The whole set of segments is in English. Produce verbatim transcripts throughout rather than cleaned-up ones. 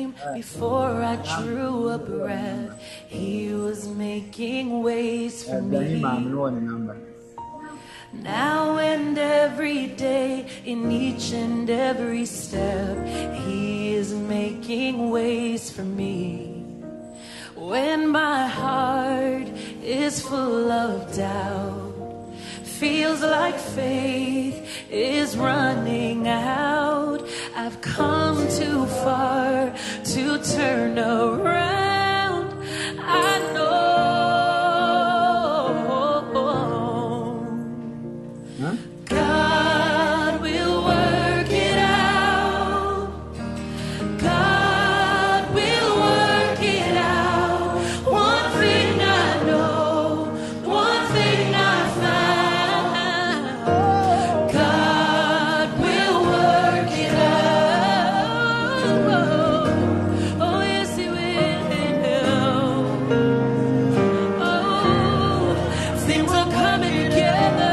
name before I drew a breath. He was making ways for me. Now and every day, in each and every step, He is making ways for me. When my heart is full of doubt, feels like faith is running out, I've come too far to turn around. I know huh? God will work it out. God will work it out. One thing I know, one thing I found, God will work it out. Oh, yes, He will. Oh, things are coming together.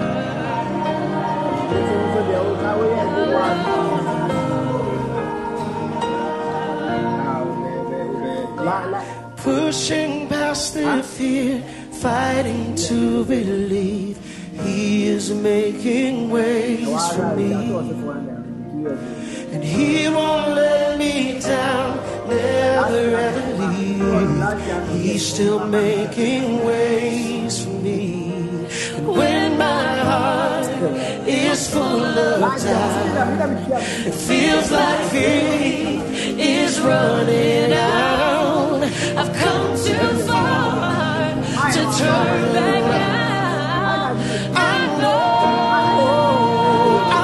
Pushing past the fear, fighting to believe He is making ways for me. And He won't let me down, never ever leave. He's still making ways for me. And when my heart is full of doubt, it feels like faith is running out. I've come too far to turn back now. I know, I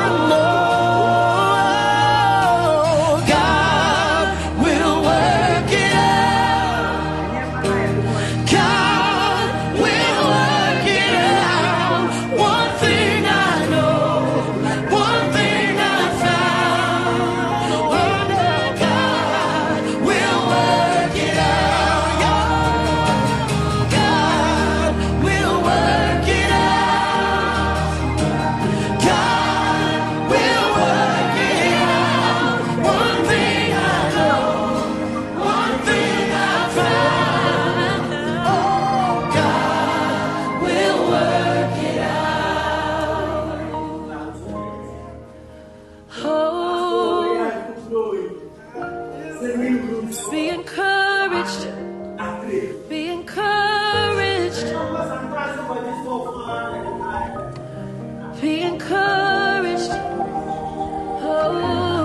know, God will work it out. God will work it out. One thing I know, one thing I found, oh, God will work it out. God will work it out. God will work it out. One thing I know, one thing I found, oh, God will work it out. Oh, be encouraged. Be encouraged. Be encouraged. Oh,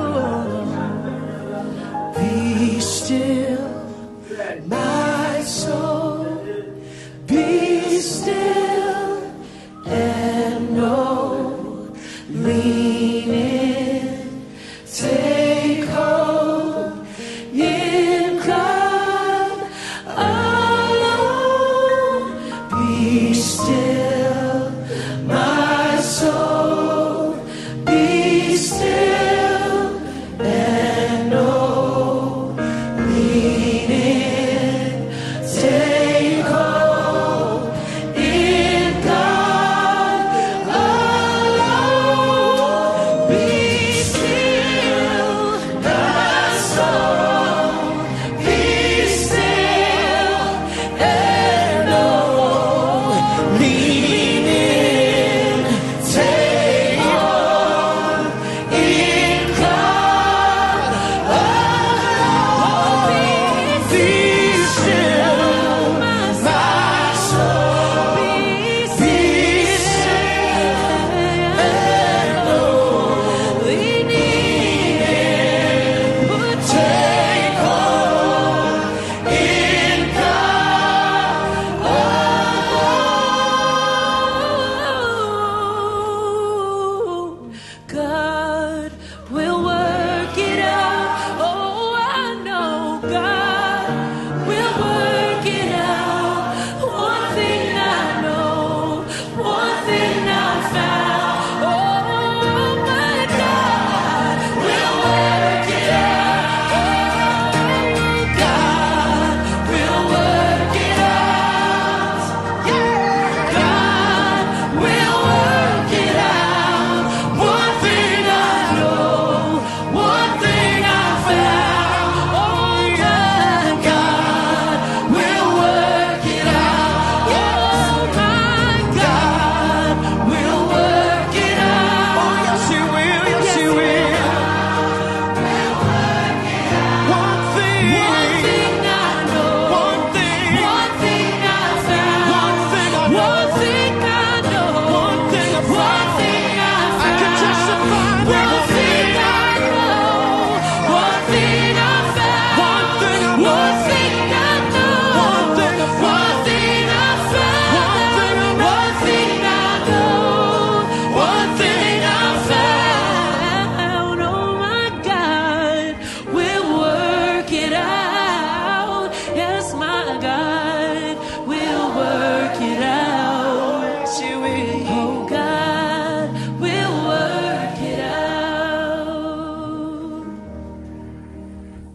be still, my soul. Be still and know. Lean in, take hold in God alone. Be still, my soul. Be still and know. Lean in, take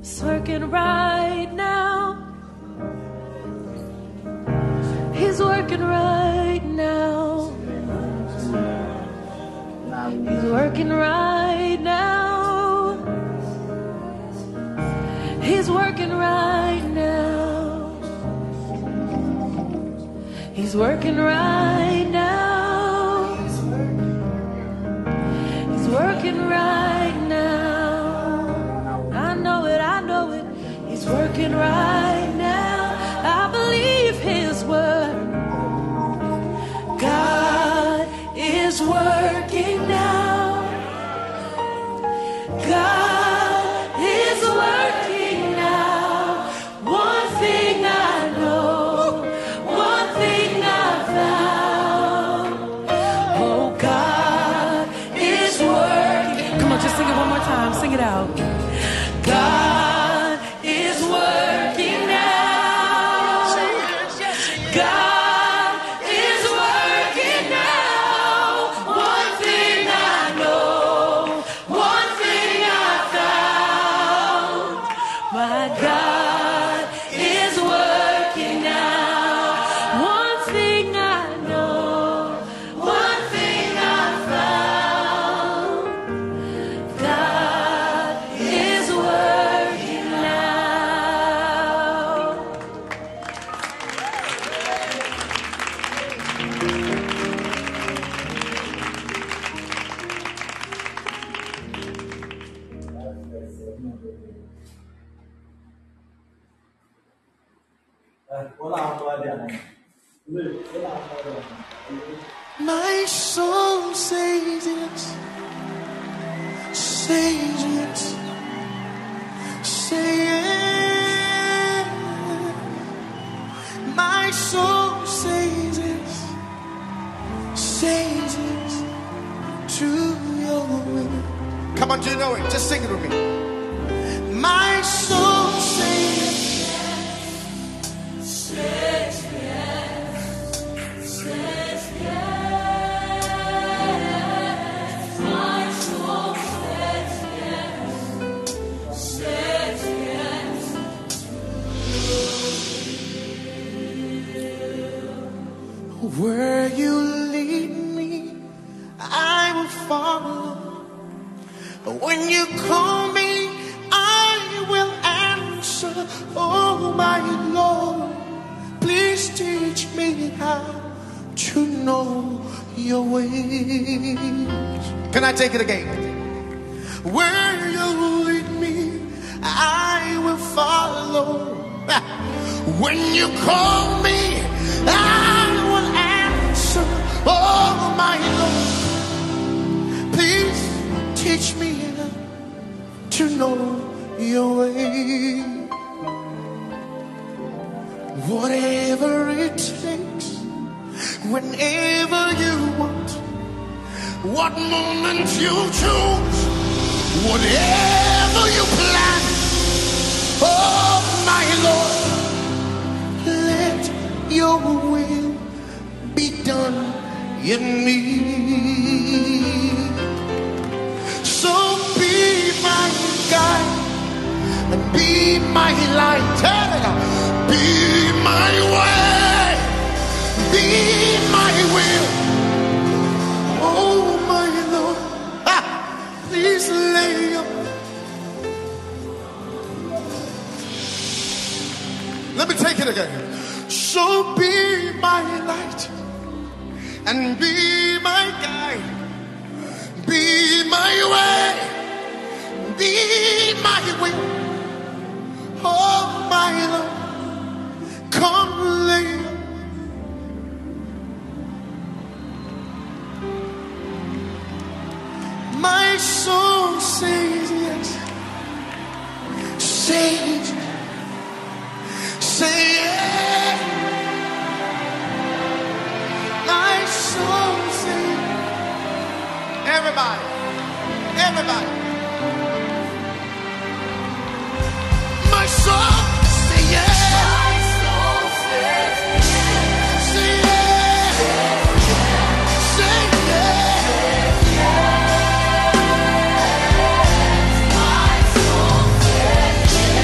He's working right now. He's working right now. He's working right now. He's working right now. He's working right now. He's working right now. I know it, I know it. He's working right now. I believe his word. God is working now. God is working now. One thing I know, one thing I found. Oh, God is working. Come on, just sing it one more time. Sing it out. God is working now. God is working now. One thing I know, one thing I found. My God is working now. One thing I know, one thing I found. God is working now. My soul says yes, says yes, say yes. My soul says yes, says yes to your will. Come on, do you know it? Just sing it with me. My soul says yes. Says yes, says yes. My soul says yes, says yes. Where you lead me, I will follow. When you call me, I will answer. Oh, my Lord, please teach me how to know your ways. Can I take it again? Where you lead me, I will follow. When you call me, I will answer. Oh, my Lord, please teach me to know your way. Whatever it takes, whenever you want, what moment you choose, whatever you plan. Oh, my Lord, let your will be done in me. So be my guide and be my light. Be my way, be my will. Oh, my Lord, ah, please lay up. Let me take it again. So be my light and be my guide. Be my way, be my will. Oh, my Lord, come lay. My soul says yes, says, say yes. My soul says, everybody, everybody. My soul say yes. My soul says yes. Say yes. Say yes. My soul says yes.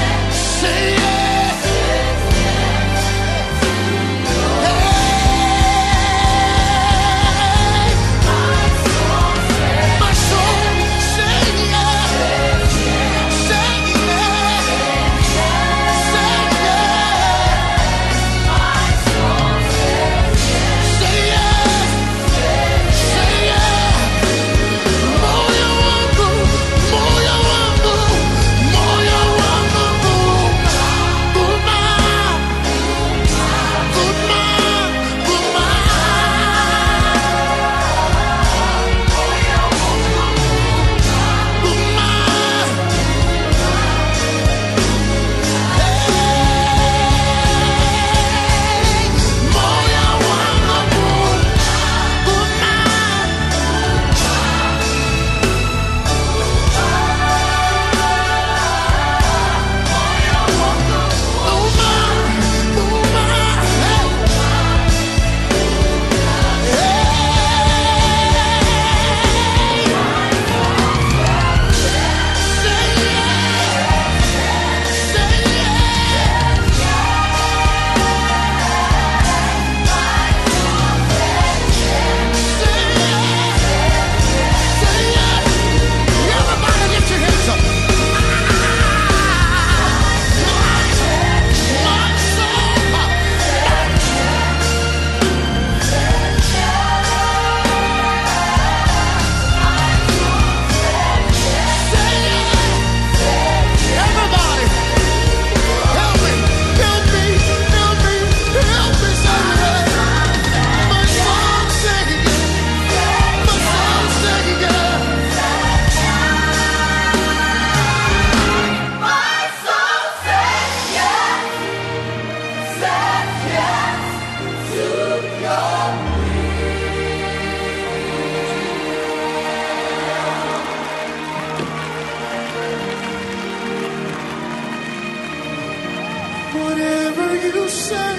Whatever you say,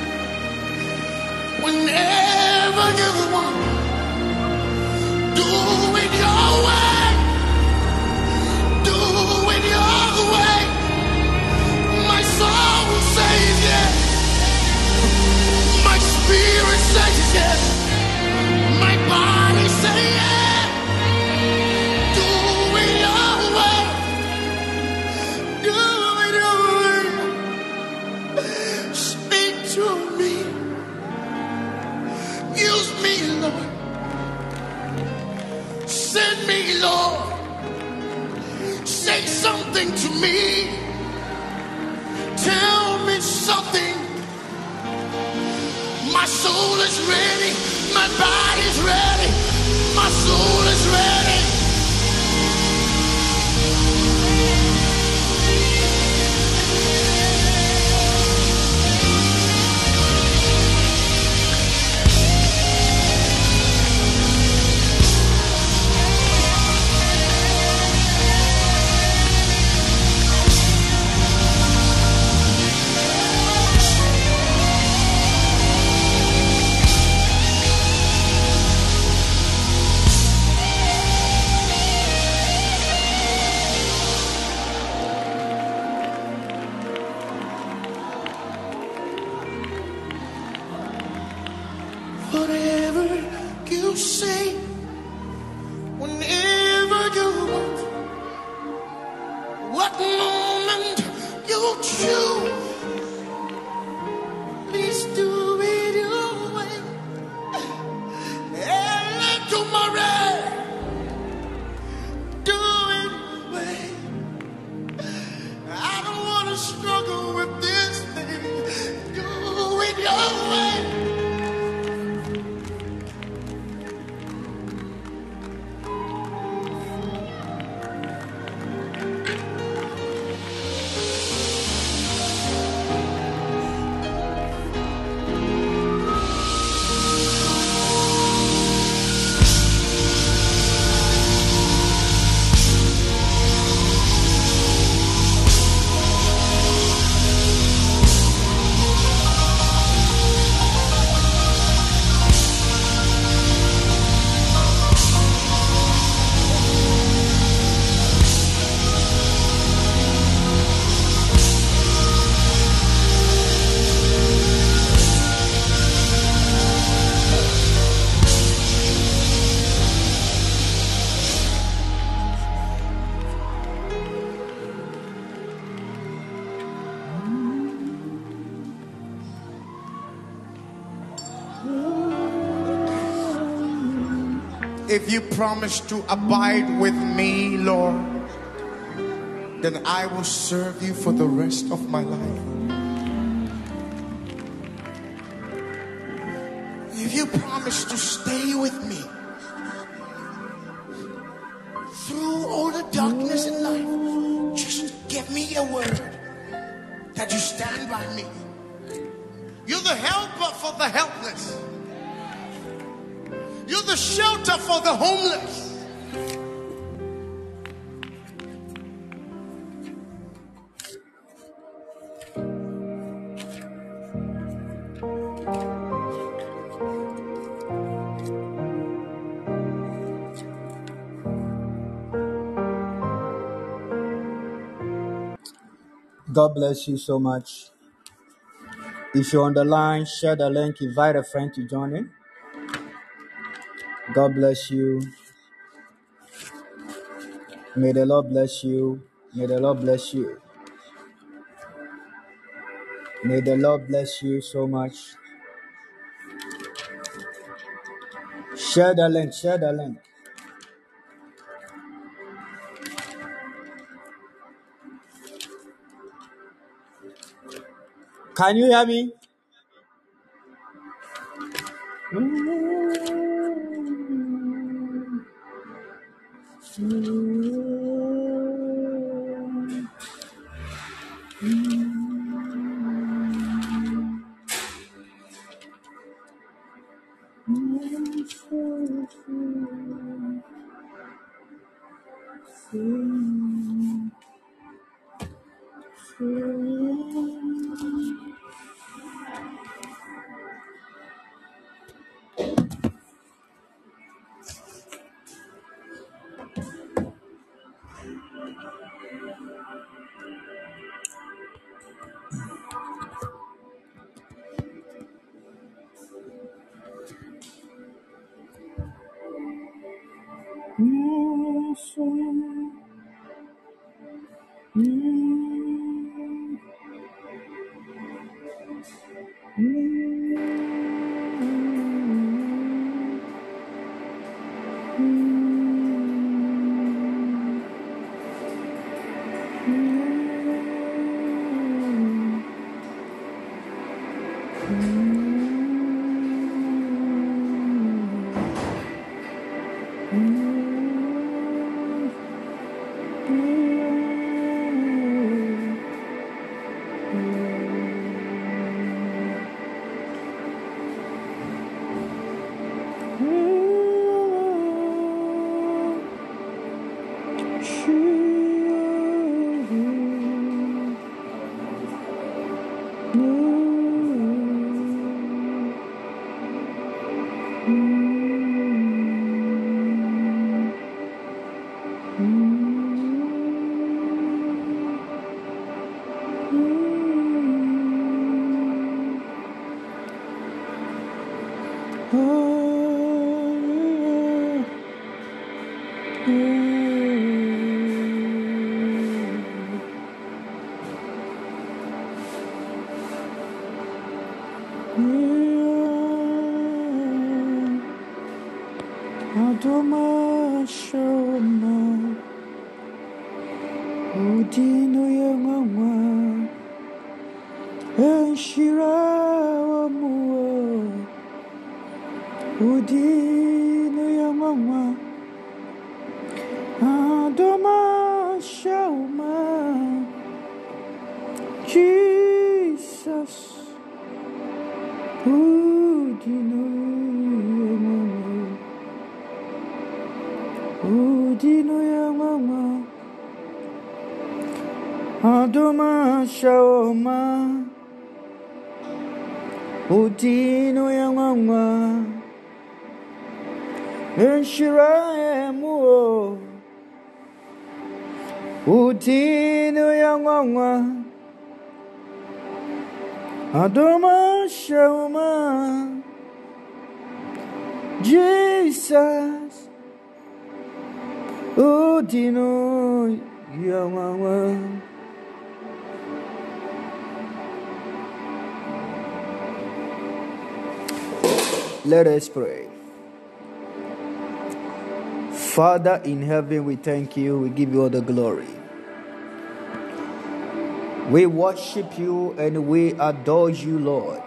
whenever you want, do it your way, do it your way. My soul says yes, my spirit says yes, my body says yes. Do it your way, do it your way. Speak to me, use me, Lord. Send me, Lord. Say something to me. Tell me something. My soul is ready. My body's ready. My soul is ready. Whatever you say, whenever you want, what moment you choose, please do it your way. And tomorrow, do it your way. I don't want to struggle with this thing. Do it your way. If you promise to abide with me, Lord, then I will serve you for the rest of my life. If you promise to stay with me through all the darkness in life, just give me a word that you stand by me. You're the helper for the helpless. You're the shelter for the homeless. God bless you so much. If you're on the line, share the link, invite a friend to join in. God bless you. May the Lord bless you. May the Lord bless you. May the Lord bless you so much. Share the link, share the link. Can you hear me? Adoma Shoma Udino Yamawa Enshira Wamuo Udino Yamawa Adoma Shoma Jesus Udino Yamawa Udino Yamawa Adoma Shoma Udino Yamawa Enshira Muo Udino Yamawa Adoma Shoma Jesus Udino Yamawa. Let us pray. Father in heaven, we thank you. We give you all the glory. We worship you and we adore you, Lord.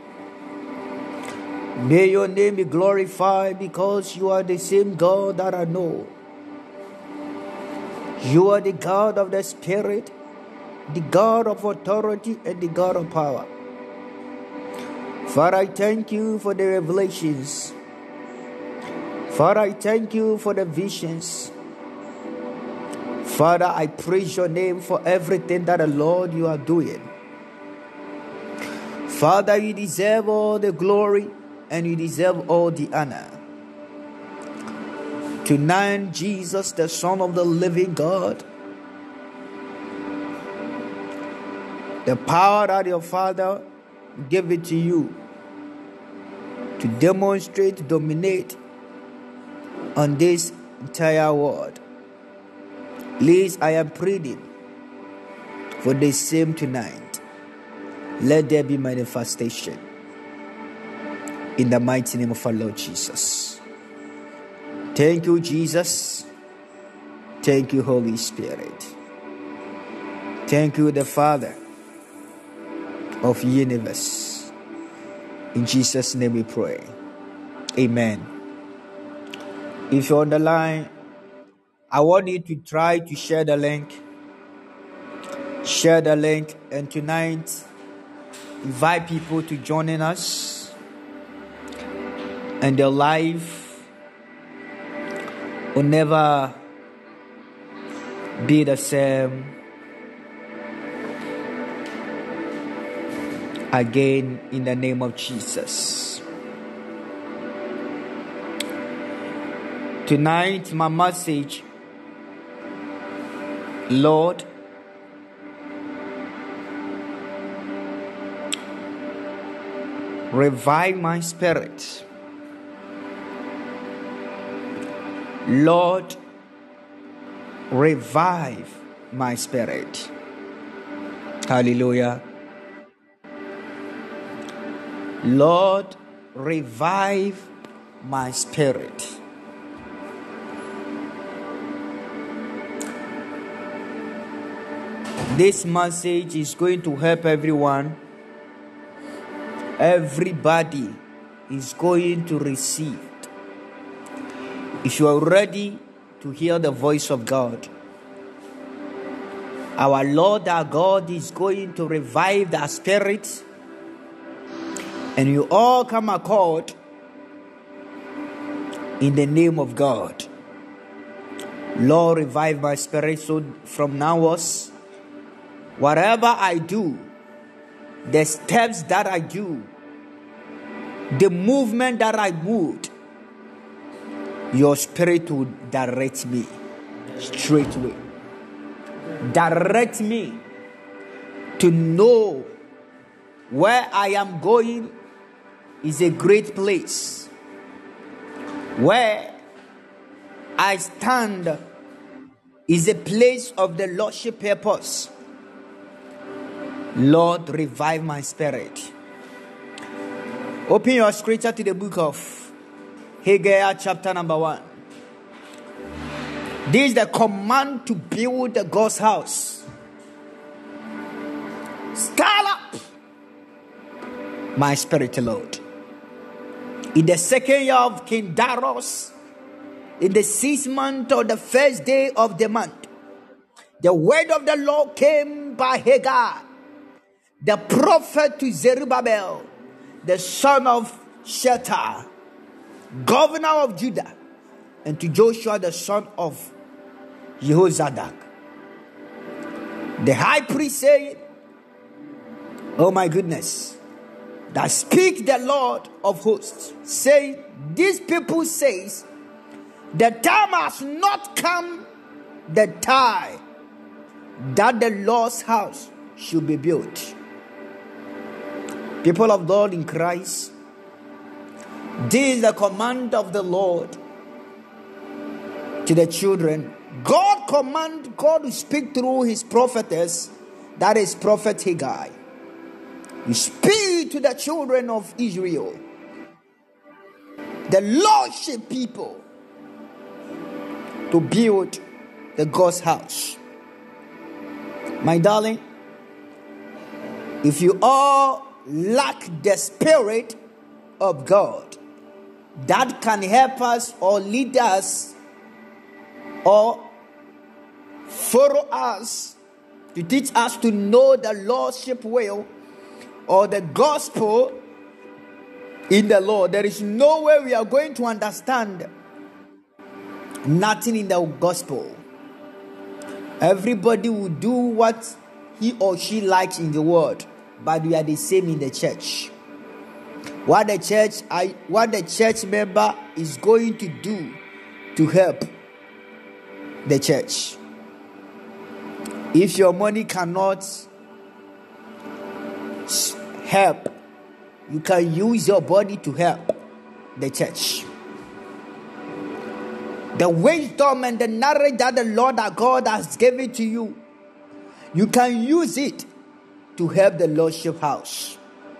May your name be glorified because you are the same God that I know. You are the God of the Spirit, the God of authority, and the God of power. Father, I thank you for the revelations. Father, I thank you for the visions. Father, I praise your name for everything that the Lord you are doing. Father, you deserve all the glory and you deserve all the honor. Tonight, Jesus, the Son of the living God, the power that your Father gave it to you to demonstrate, dominate on this entire world. Please, I am pleading for the same tonight. Let there be manifestation in the mighty name of our Lord Jesus. Thank you, Jesus. Thank you, Holy Spirit. Thank you, the Father of the universe. In Jesus' name we pray. Amen. If you're on the line, I want you to try to share the link. Share the link. And tonight, invite people to join in us. And their life will never be the same again in the name of Jesus. Tonight, my message, Lord, revive my spirit. Lord, revive my spirit. Hallelujah. Lord, revive my spirit. This message is going to help everyone. Everybody is going to receive. If you are ready to hear the voice of God, our Lord, our God, is going to revive the spirit, and you all come accord in the name of God. Lord, revive my spirit. So from now on, whatever I do, the steps that I do, the movement that I moved, your spirit will direct me straightway. Direct me to know where I am going is a great place. Where I stand is a place of the Lordship purpose. Lord, revive my spirit. Open your scripture to the book of Haggai, chapter number one. This is the command to build the God's house. Start up my spirit, Lord. In the second year of King Darius, in the sixth month of the first day of the month, the word of the Lord came by Haggai, the prophet, to Zerubbabel, the son of Shealtiel, governor of Judah, and to Joshua, the son of Jehozadak. The high priest said, oh my goodness, that speak the Lord of hosts, saying, these people says, the time has not come, the time that the Lord's house should be built. People of God in Christ, this is the command of the Lord to the children. God command, God will speak through his prophetess, that is Prophet Haggai. He speak to the children of Israel, the Lordship people, to build the God's house. My darling, if you all lack the Spirit of God that can help us or lead us or follow us to teach us to know the Lordship will or the gospel in the Lord, there is no way we are going to understand nothing in the gospel. Everybody will do what he or she likes in the world, but we are the same in the church. What the church, I, what the church member is going to do to help the church. If your money cannot help, you can use your body to help the church. The wisdom and the knowledge that the Lord our God has given to you, you can use it to help the Lordship house.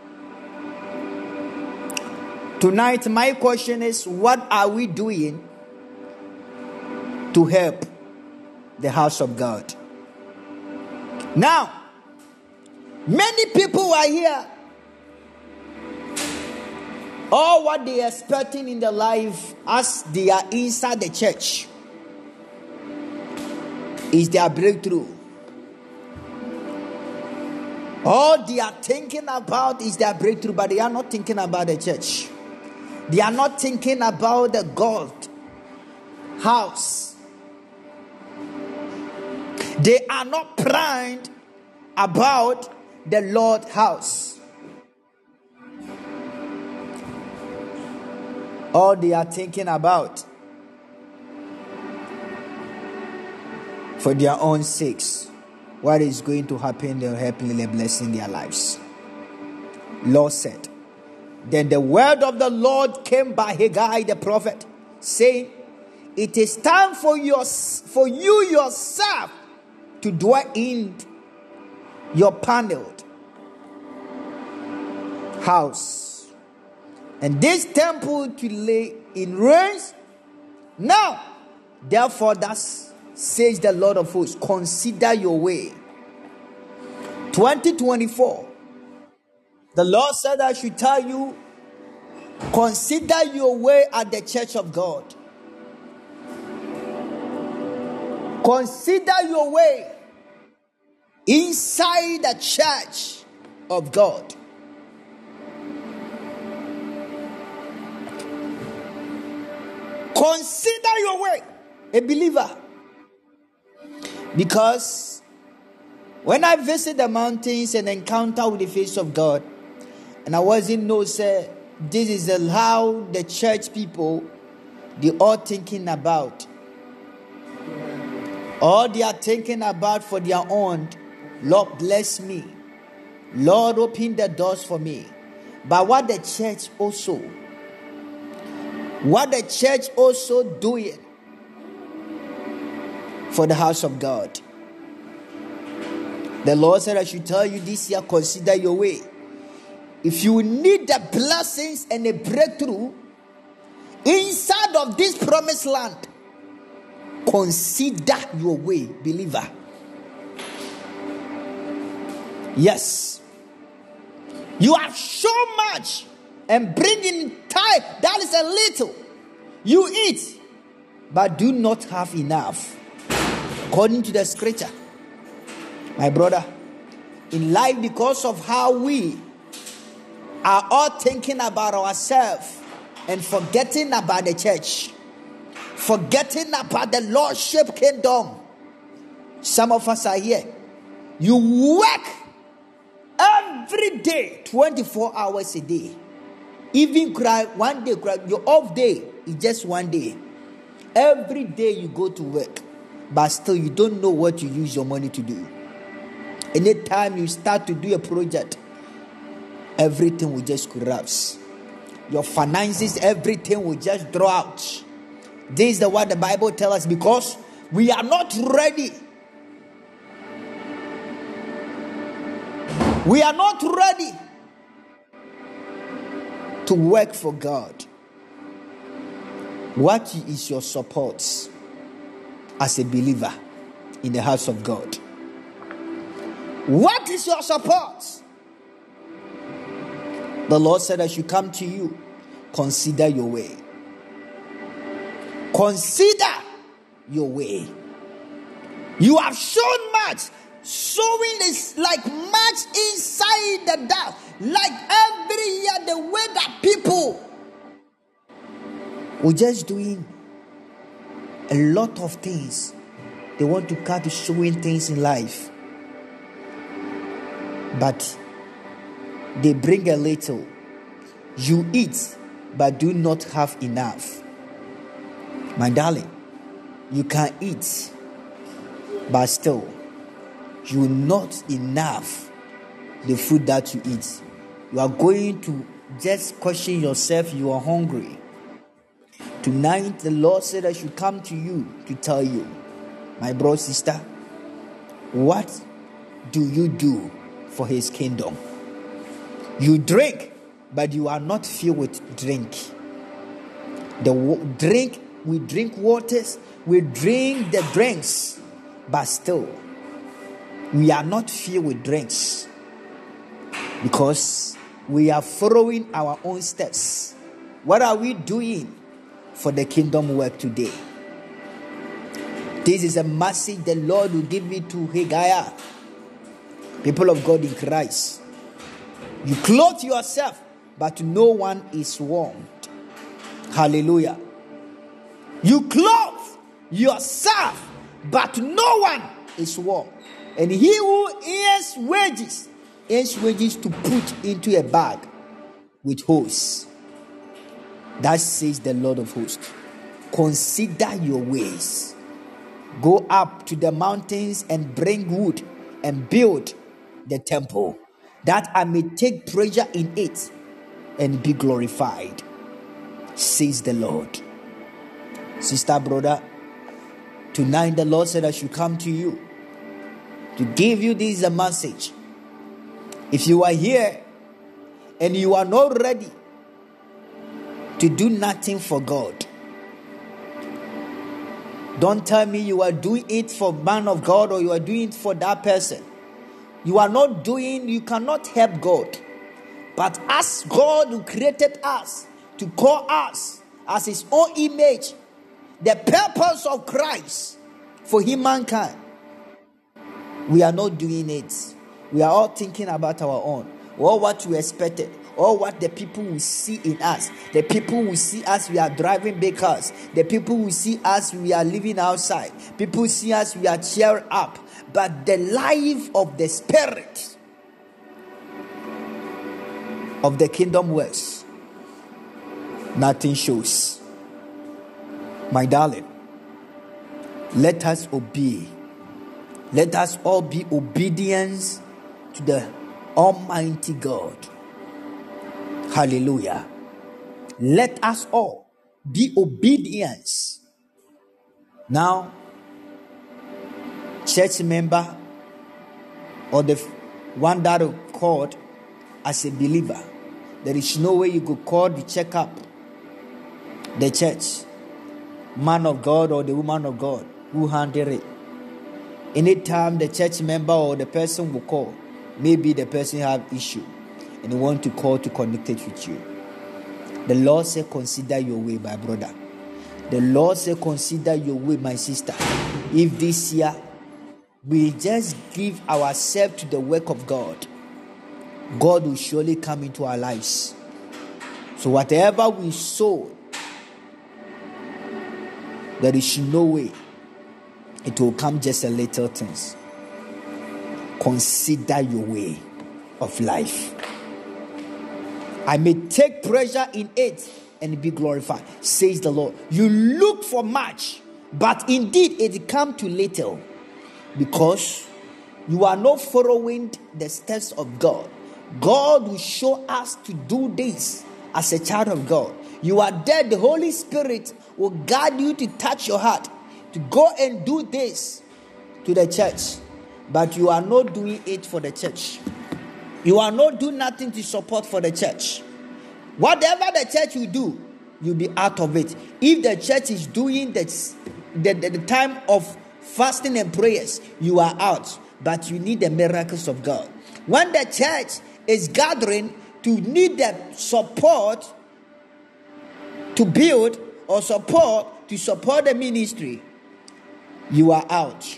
Tonight, my question is, what are we doing to help the house of God? Now, many people are here. All what they are expecting in their life as they are inside the church is their breakthrough. All they are thinking about is their breakthrough, but they are not thinking about the church. They are not thinking about the God house. They are not primed about the Lord house. All they are thinking about for their own sakes, what is going to happen, they're happily blessing their lives. Lord said, then the word of the Lord came by Haggai the prophet, saying, it is time for your for you yourself to dwell in your paneled house, and this temple to lay in ruins. Now, therefore, thus says the Lord of hosts, consider your way. twenty twenty-four. The Lord said I should tell you, consider your way at the church of God. Consider your way inside the church of God. Consider your way, a believer. Because when I visit the mountains and encounter with the face of God, and I wasn't know, say, this is the, how the church people, they all thinking about. All they are thinking about for their own, Lord bless me. Lord open the doors for me. But what the church also, what the church also doing for the house of God. The Lord said I should tell you this year, consider your way. If you need the blessings and a breakthrough inside of this promised land, consider your way, believer. Yes. You have so much and bringing tithe, that is a little. You eat, but do not have enough. According to the scripture, my brother, in life, because of how we are all thinking about ourselves and forgetting about the church, forgetting about the Lordship kingdom. Some of us are here. You work every day, twenty-four hours a day. Even cry one day, cry, your off day is just one day. Every day you go to work, but still you don't know what you use your money to do. Anytime you start to do a project, everything will just collapse. Your finances, everything will just draw out. This is what the Bible tells us, because we are not ready. We are not ready to work for God. What is your support as a believer in the house of God? What is your support? The Lord said I should come to you. Consider your way. Consider your way. You have shown much. Sowing is like much inside the dark. Like every year, the way that people were just doing a lot of things. They want to cut showing things in life. But they bring a little. You eat, but do not have enough. My darling, you can eat, but still, you not enough the food that you eat. You are going to just question yourself, you are hungry. Tonight, the Lord said I should come to you to tell you, my brother, sister, what do you do for his kingdom? You drink, but you are not filled with drink. The w- drink, we drink waters, we drink the drinks, but still, we are not filled with drinks because we are following our own steps. What are we doing for the kingdom work today? This is a message the Lord will give me to Haggai. People of God in Christ, you clothe yourself, but no one is warmed. Hallelujah. You clothe yourself, but no one is warm. And he who earns wages, earns wages to put into a bag with holes. That says the Lord of hosts. Consider your ways. Go up to the mountains and bring wood and build the temple, that I may take pleasure in it and be glorified, says the Lord. Sister, brother, tonight the Lord said I should come to you to give you this a message. If you are here and you are not ready to do nothing for God, don't tell me you are doing it for man of God or you are doing it for that person. You are not doing, you cannot help God. But as God who created us to call us as his own image, the purpose of Christ for humankind, we are not doing it. We are all thinking about our own, or what we expected, or what the people will see in us. The people will see us, we are driving big cars. The people will see us, we are living outside. People see us, we are cheered up. But the life of the Spirit of the kingdom works, nothing shows. My darling, let us obey. Let us all be obedience to the Almighty God. Hallelujah. Let us all be obedience. Now, church member or the one that are called as a believer, there is no way you could call to check up the church, man of God or the woman of God who handle it. Anytime the church member or the person will call, maybe the person have issue and they want to call to connect it with you. The Lord said, consider your way, my brother. The Lord said, consider your way, my sister. If this year we just give ourselves to the work of God, God will surely come into our lives. So whatever we sow, there is no way it will come just a little things. Consider your way of life. I may take pleasure in it and be glorified, says the Lord. You look for much, but indeed it come to little, because you are not following the steps of God. God will show us to do this as a child of God. You are there, the Holy Spirit will guide you to touch your heart, to go and do this to the church. But you are not doing it for the church. You are not doing nothing to support for the church. Whatever the church will do, you'll be out of it. If the church is doing the, the, the, the time of fasting and prayers, you are out. But you need the miracles of God. When the church is gathering to need the support to build or support to support the ministry, you are out.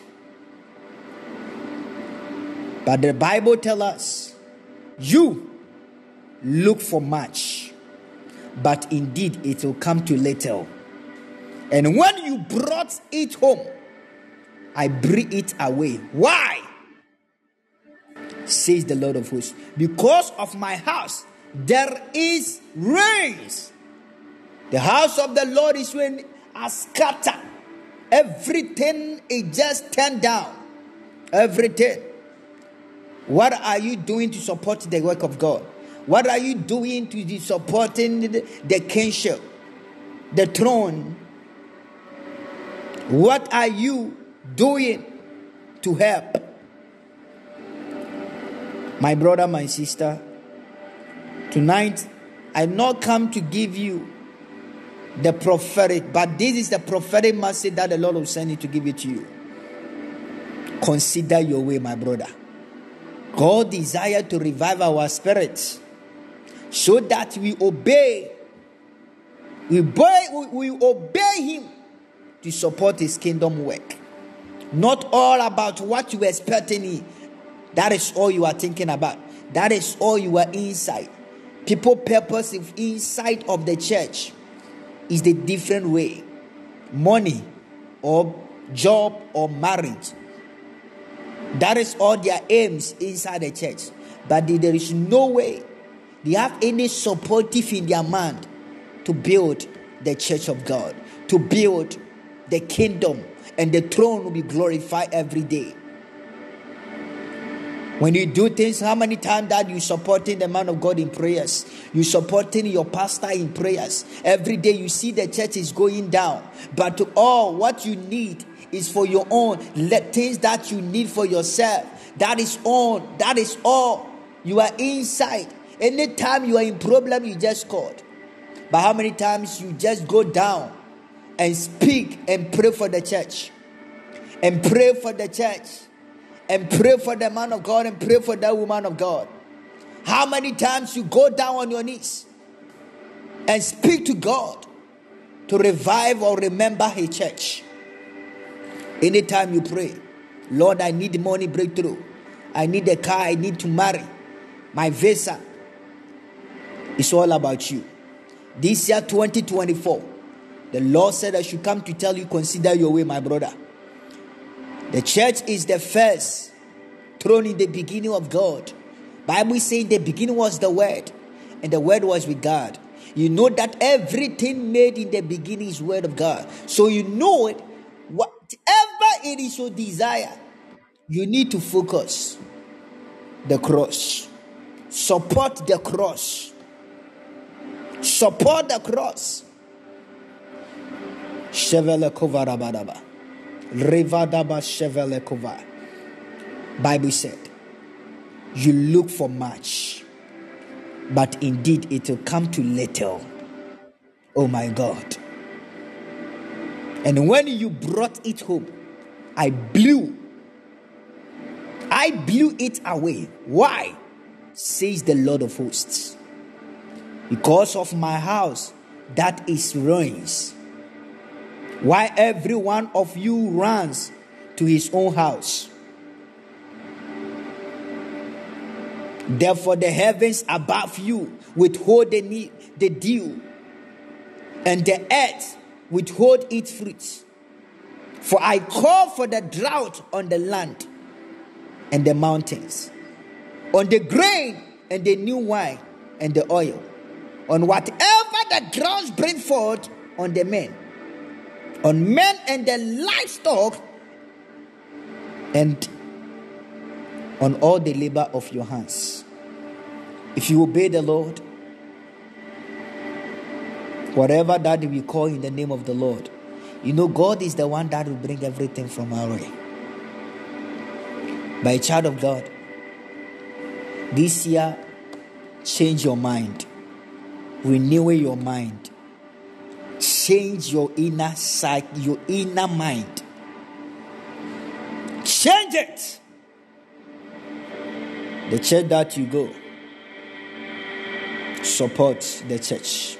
But the Bible tells us, you look for much, but indeed it will come to little. And when you brought it home, I bring it away. Why? Says the Lord of hosts. Because of my house there is rains. The house of the Lord is when I scatter. Everything is just turned down. Everything. What are you doing to support the work of God? What are you doing to be supporting the, the kingship, the throne? What are you doing to help? My brother, my sister, tonight I not come to give you the prophetic, but this is the prophetic message that the Lord will send you to give it to you. Consider your way, my brother. God desires to revive our spirits so that we obey. We obey, we, we obey Him to support His kingdom work. Not all about what you are expecting. That is all you are thinking about. That is all you are inside. People purpose inside of the church is the different way. Money or job or marriage. That is all their aims inside the church. But there is no way they have any supportive in their mind to build the church of God, to build the kingdom, and the throne will be glorified every day. When you do things, how many times that you supporting the man of God in prayers? You supporting your pastor in prayers. Every day you see the church is going down. But to all, what you need is for your own. Let things that you need for yourself. That is all. That is all. You are inside. Anytime you are in problem, you just called. But how many times you just go down and speak and pray for the church? And pray for the church. And pray for the man of God and pray for that woman of God. How many times you go down on your knees and speak to God to revive or remember His church? Anytime you pray, Lord, I need money breakthrough. I need a car. I need to marry. My visa. It's all about you. This year, twenty twenty-four, the Lord said I should come to tell you, consider your way, my brother. The church is the first throne in the beginning of God. Bible says the beginning was the Word, and the Word was with God. You know that everything made in the beginning is Word of God. So you know it. Whatever it is your desire, you need to focus the cross. Support the cross. Support the cross. Chevele kovarabadaba. Revadaba chevele kovar. Bible said, you look for much, but indeed it will come to little. Oh my God. And when you brought it home, I blew. I blew it away. Why? Says the Lord of hosts. Because of my house that is ruins. Why every one of you runs to his own house. Therefore the heavens above you withhold the, the dew, and the earth withhold its fruits. For I call for the drought on the land and the mountains, on the grain and the new wine and the oil, on whatever the grounds bring forth, on the men, on men and the livestock, and on all the labor of your hands. If you obey the Lord, whatever that we call in the name of the Lord, you know God is the one that will bring everything from our way. By a child of God, this year, change your mind. Renew your mind. Change your inner sight, your inner mind. Change it. The church that you go, support the church.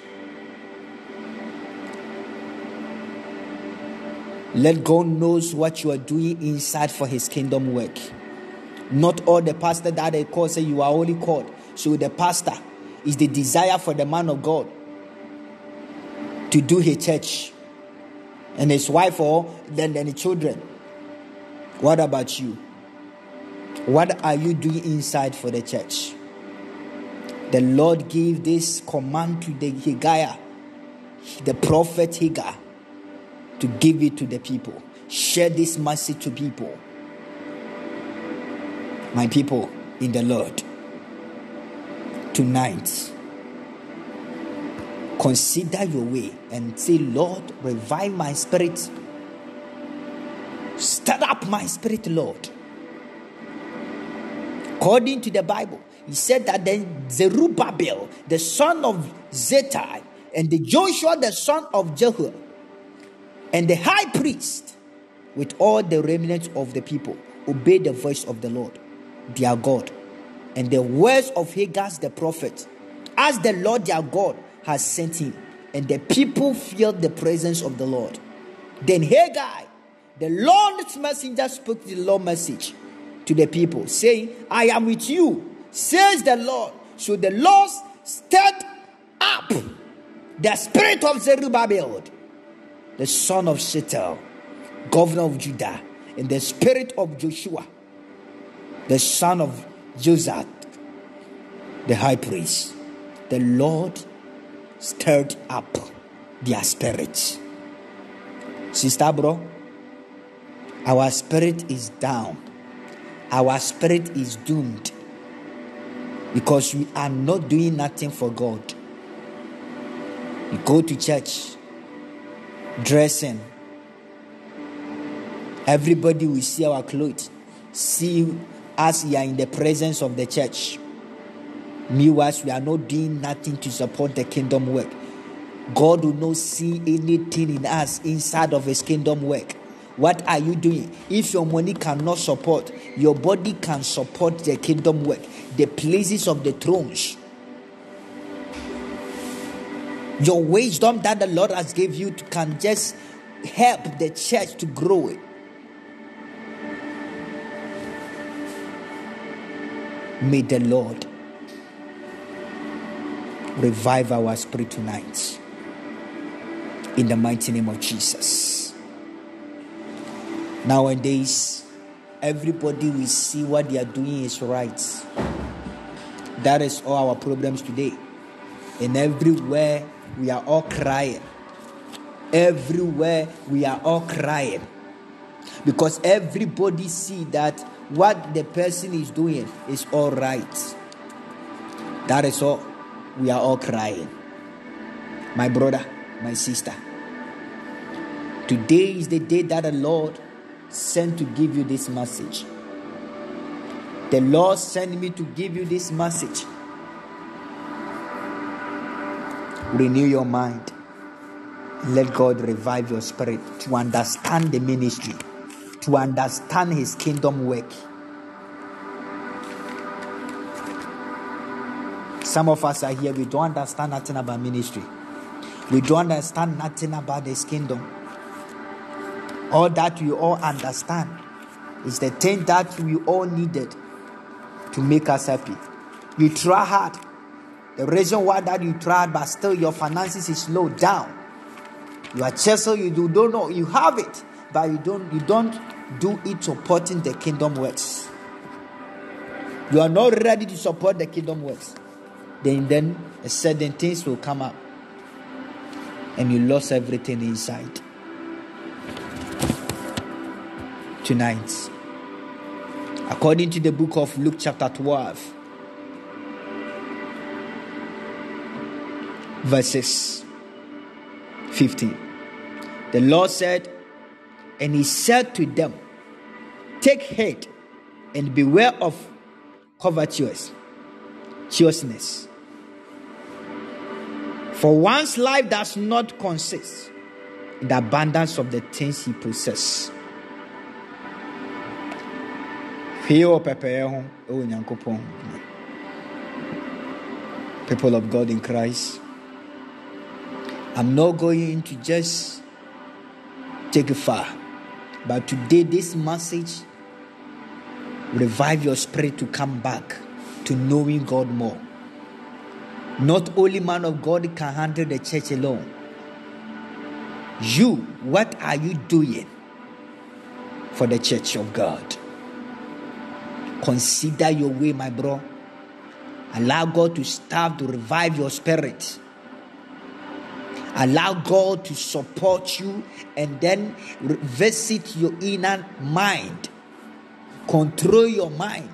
Let God knows what you are doing inside for His kingdom work. Not all the pastor that they call say you are only called. So the pastor is the desire for the man of God to do his church and his wife or then, then the children. What about you? What are you doing inside for the church? The Lord gave this command to the Haggai, the prophet Haggai, to give it to the people. Share this message to people. My people in the Lord, tonight, consider your way and say, Lord, revive my spirit. Stir up my spirit, Lord. According to the Bible, He said that then Zerubbabel, the son of Zetai, and the Joshua, the son of Jehu, and the high priest, with all the remnants of the people, obeyed the voice of the Lord, their God, and the words of Haggai the prophet, as the Lord their God has sent him. And the people felt the presence of the Lord. Then Haggai, the Lord's messenger, spoke the Lord's message to the people, saying, I am with you, says the Lord. So the Lord stirred up the spirit of Zerubbabel, the son of Shealtiel, governor of Judah, and the spirit of Joshua, the son of Jozadak, the high priest. The Lord stirred up their spirit. Sister, bro, our spirit is down. Our spirit is doomed because we are not doing nothing for God. We go to church, dressing. Everybody will see our clothes, see us we are in the presence of the church. Meanwhile, we are not doing nothing to support the kingdom work. God will not see anything in us inside of his kingdom work. What are you doing? If your money cannot support, your body can support the kingdom work, the places of the thrones. Your wisdom that the Lord has given you can just help the church to grow. May the Lord revive our spirit tonight. In the mighty name of Jesus. Nowadays, everybody will see what they are doing is right. That is all our problems today. And everywhere we are all crying. Everywhere we are all crying. Because everybody see that what the person is doing is all right. That is all. We are all crying. My brother, my sister. Today is the day that the Lord sent to give you this message. The Lord sent me to give you this message. Renew your mind. Let God revive your spirit to understand the ministry, to understand his kingdom work. Some of us are here, we don't understand nothing about ministry. We don't understand nothing about his kingdom. All that we all understand is the thing that we all needed to make us happy. You try hard. The reason why that you tried, but still your finances is low down. You are just you do don't know you have it, but you don't you don't do it supporting the kingdom works. You are not ready to support the kingdom works. Then then certain things will come up, and you lost everything inside. Tonight, according to the book of Luke chapter twelve, verses fifteen, the Lord said, and he said to them, take heed and beware of covetousness, for one's life does not consist in the abundance of the things he possesses. People of God in Christ, I'm not going to just take it far, but today this message will revive your spirit to come back to knowing God more. Not only man of God can handle the church alone. You, what are you doing for the church of God? Consider your way, my bro. Allow God to start to revive your spirit. Allow God to support you and then visit your inner mind. Control your mind.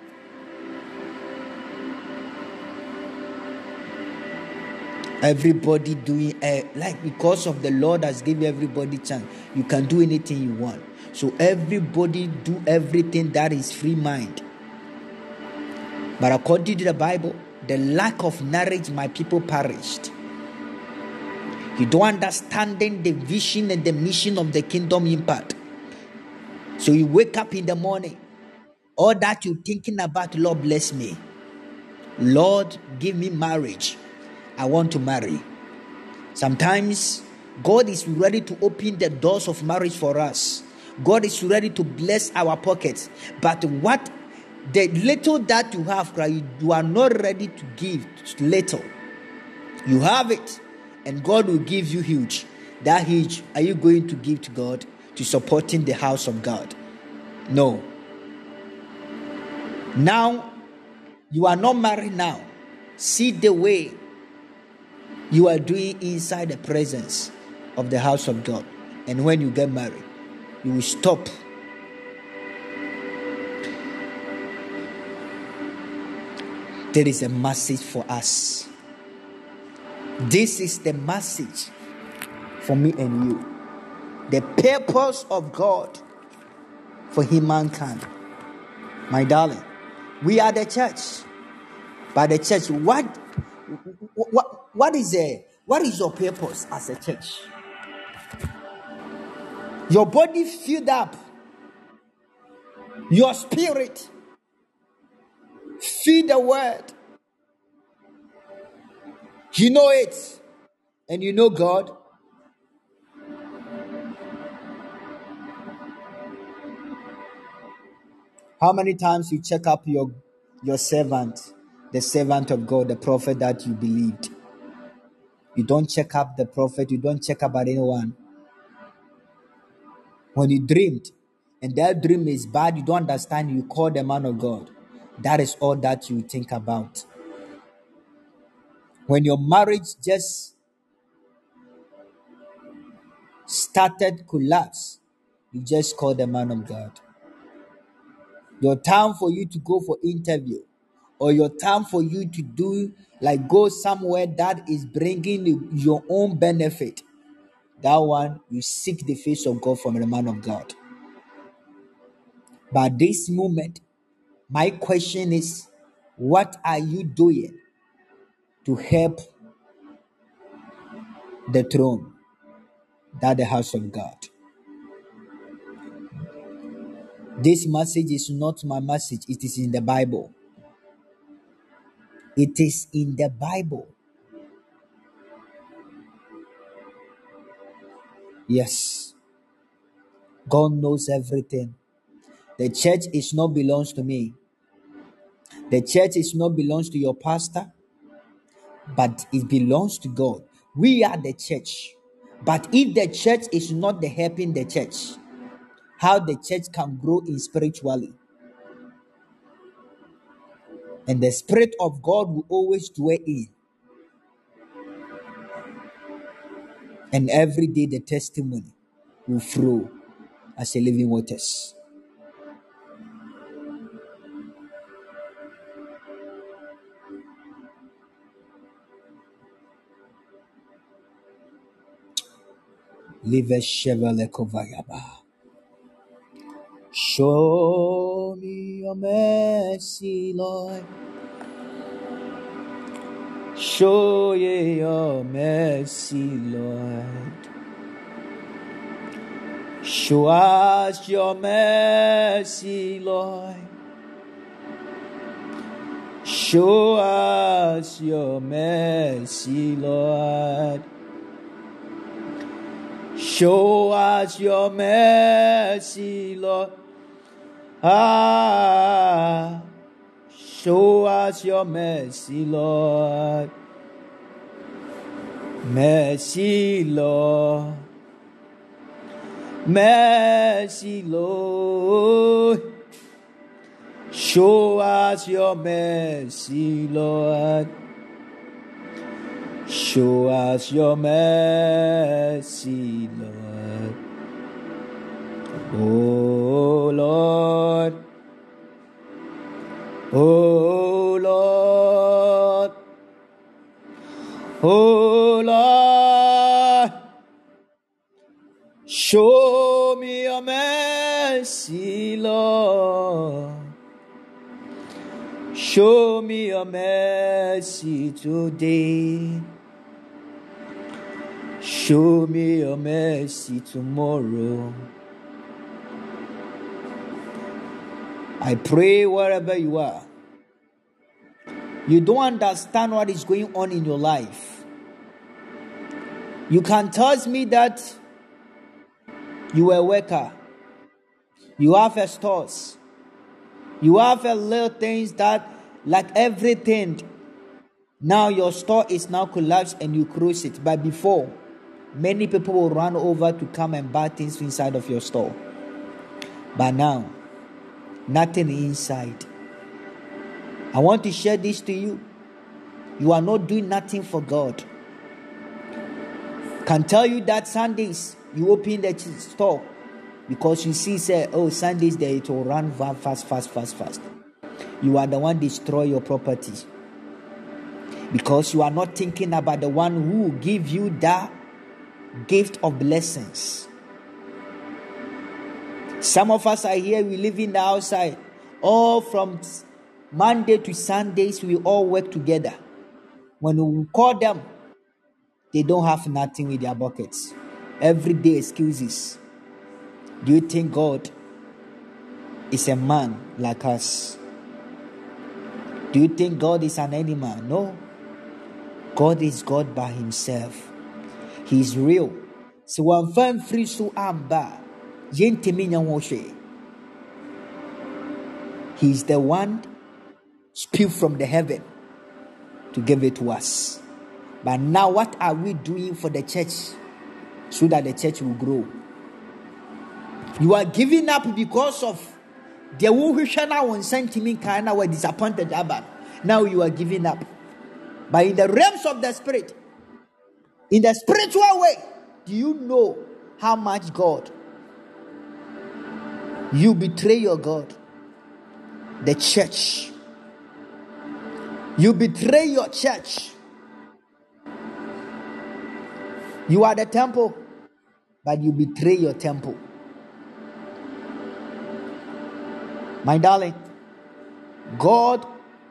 Everybody doing uh, like because of the Lord has given everybody chance. You can do anything you want. So everybody do everything that is free mind. But according to the Bible, the lack of knowledge, my people perished. You don't understanding the vision and the mission of the kingdom impact. So you wake up in the morning, all that you're thinking about, Lord bless me. Lord, give me marriage. I want to marry. Sometimes God is ready to open the doors of marriage for us. God is ready to bless our pockets. But what the little that you have, you are not ready to give little. You have it, and God will give you huge. That huge, are you going to give to God to supporting the house of God? No. Now, you are not married now. See the way you are doing inside the presence of the house of God. And when you get married, you will stop. There is a message for us. This is the message for me and you. The purpose of God for humankind. My darling, we are the church. But the church, what, what, what is the, what is your purpose as a church? Your body filled up. Your spirit. Feed the word. You know it. And you know God. How many times you check up your, your servant, the servant of God, the prophet that you believed? You don't check up the prophet. You don't check up anyone. When you dreamed, and that dream is bad, you don't understand, you call the man of God. That is all that you think about. When your marriage just started collapse, you just call the man of God. Your time for you to go for interview, or your time for you to do like go somewhere that is bringing you your own benefit, that one you seek the face of God from the man of God. But this moment, my question is, what are you doing to help the throne, that the house of God? This message is not my message. It is in the Bible. It is in the Bible. Yes. God knows everything. The church is not belongs to me. The church is not belongs to your pastor, but it belongs to God. We are the church. But if the church is not the helping the church, how the church can grow in spiritually? And the Spirit of God will always dwell in. And every day the testimony will flow as a living waters. Live Chevrolet Kovayaba. Show me your mercy, Lord. Show ye your mercy, Lord. Show us your mercy, Lord. Show us your mercy, Lord. Show us your mercy, Lord. Ah, show us your mercy, Lord. Mercy, Lord. Mercy, Lord. Show us your mercy, Lord. Show us your mercy, Lord. Oh, Lord. Oh, Lord. Oh, Lord. Show me your mercy, Lord. Show me your mercy today. Show me your mercy tomorrow. I pray wherever you are, you don't understand what is going on in your life. You can tell me that you are a worker. You have a stores. You have a little things that, like everything, now your store is now collapsed and you close it. But before, many people will run over to come and buy things inside of your store. But now, nothing inside. I want to share this to you. You are not doing nothing for God. can tell you that Sundays you open the store because you see, say, oh, Sundays there it will run fast, fast, fast, fast. You are the one destroy your property because you are not thinking about the one who will give you that gift of blessings. Some of us are here, we live in the outside. All from Monday to Sundays, we all work together. When we call them, they don't have nothing with their buckets. Every day excuses. Do you think God is a man like us? Do you think God is an animal? No. God is God by himself. He is real. So one fan free so amba. He is the one spewed from the heaven to give it to us. But now what are we doing for the church so that the church will grow? You are giving up because of the Wuhushana one sentiment kind of were disappointed about. Now you are giving up. But in the realms of the spirit, in the spiritual way, do you know how much God? You betray your God, the church. You betray your church. You are the temple, but you betray your temple. My darling, God,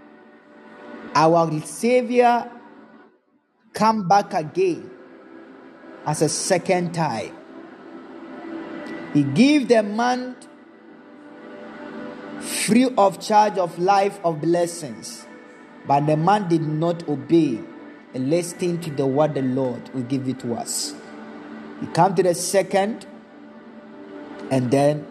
our Savior, come back again as a second time. He gave the man free of charge of life of blessings, but the man did not obey and listen to the word the Lord will give it to us. He come to the second, and then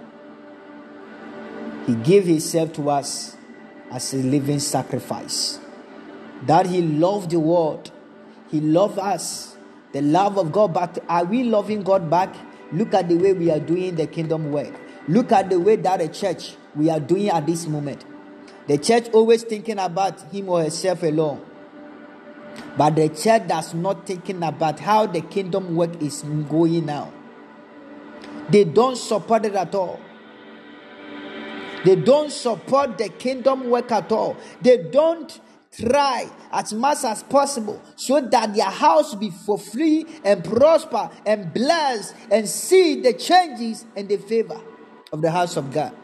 he gave himself to us as a living sacrifice. That he loved the world, he loved us, the love of God. But are we loving God back? Look at the way we are doing the kingdom work. Look at the way that the church we are doing at this moment. The church always thinking about him or herself alone. But the church does not thinking about how the kingdom work is going now. They don't support it at all. They don't support the kingdom work at all. They don't try as much as possible so that their house be for free and prosper and blessed and see the changes and the favor of the house of God.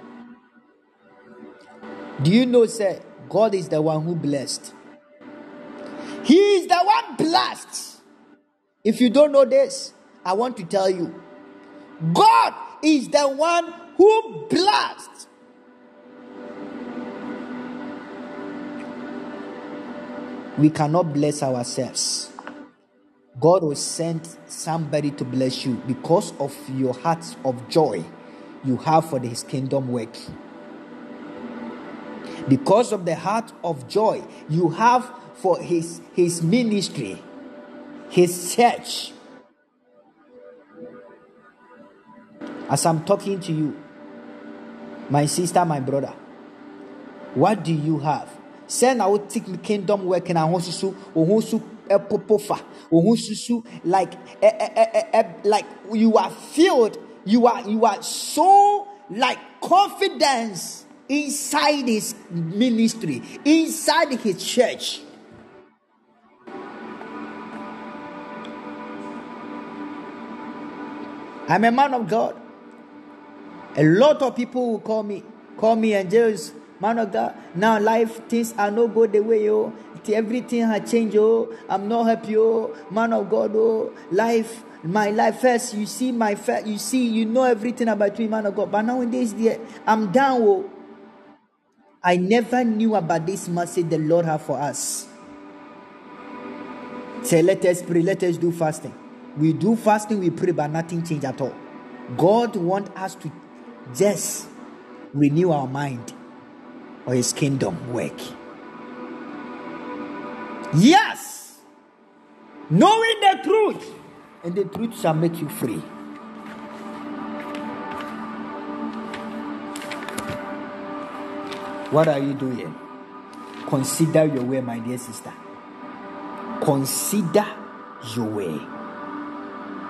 Do you know, sir, God is the one who blessed. He is the one blessed. If you don't know this, I want to tell you, God is the one who blessed. We cannot bless ourselves. God will send somebody to bless you because of your heart of joy you have for his kingdom work. Because of the heart of joy you have for his, his ministry, his church. As I'm talking to you, my sister, my brother, what do you have? Send out take kingdom work and ahosusu ohusu epopofa ohususu like eh, eh, eh, eh, like you are filled, you are you are so like confidence inside his ministry, inside his church. I'm a man of God. A lot of people will call me, call me and just, man of God, now life things are not go the way, oh. Everything has changed, oh. I'm not happy, oh. Man of God, oh. Life, my life first, you see my first, you see, you know everything about me, man of God. But nowadays, I'm down, oh. I never knew about this message the Lord have for us. Say, let us pray, let us do fasting. We do fasting, we pray, but nothing changed at all. God wants us to just renew our mind for his kingdom work. Yes! Knowing the truth, and the truth shall make you free. What are you doing? Consider your way, my dear sister. Consider your way.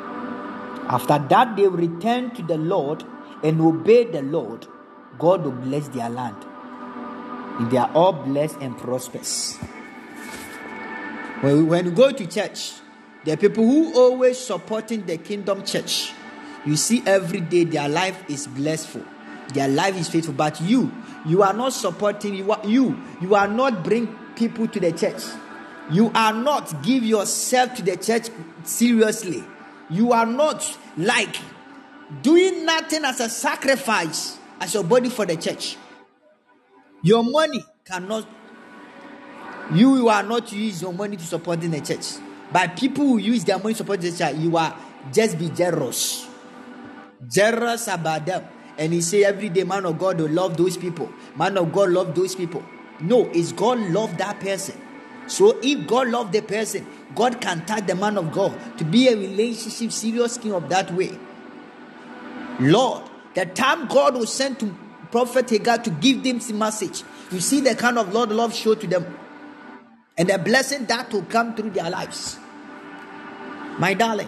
After that, they return to the Lord and obey the Lord. God will bless their land. They are all blessed and prosperous. When, we, when you go to church, there are people who always supporting the kingdom church. You see every day their life is blissful. Their life is faithful. But you, you are not supporting, you are, you, you are not bring people to the church. You are not give yourself to the church seriously. You are not like doing nothing as a sacrifice as your body for the church. Your money cannot, you, you are not use your money to support in the church. But people who use their money to support the church, you are just be jealous. Jealous about them. And he say every day, man of God will love those people. Man of God love those people. No, it's God love that person. So if God love the person, God can touch the man of God to be a relationship serious king of that way. Lord, the time God will send to Prophet Hagar to give them the message, you see the kind of Lord love show to them. And the blessing that will come through their lives. My darling,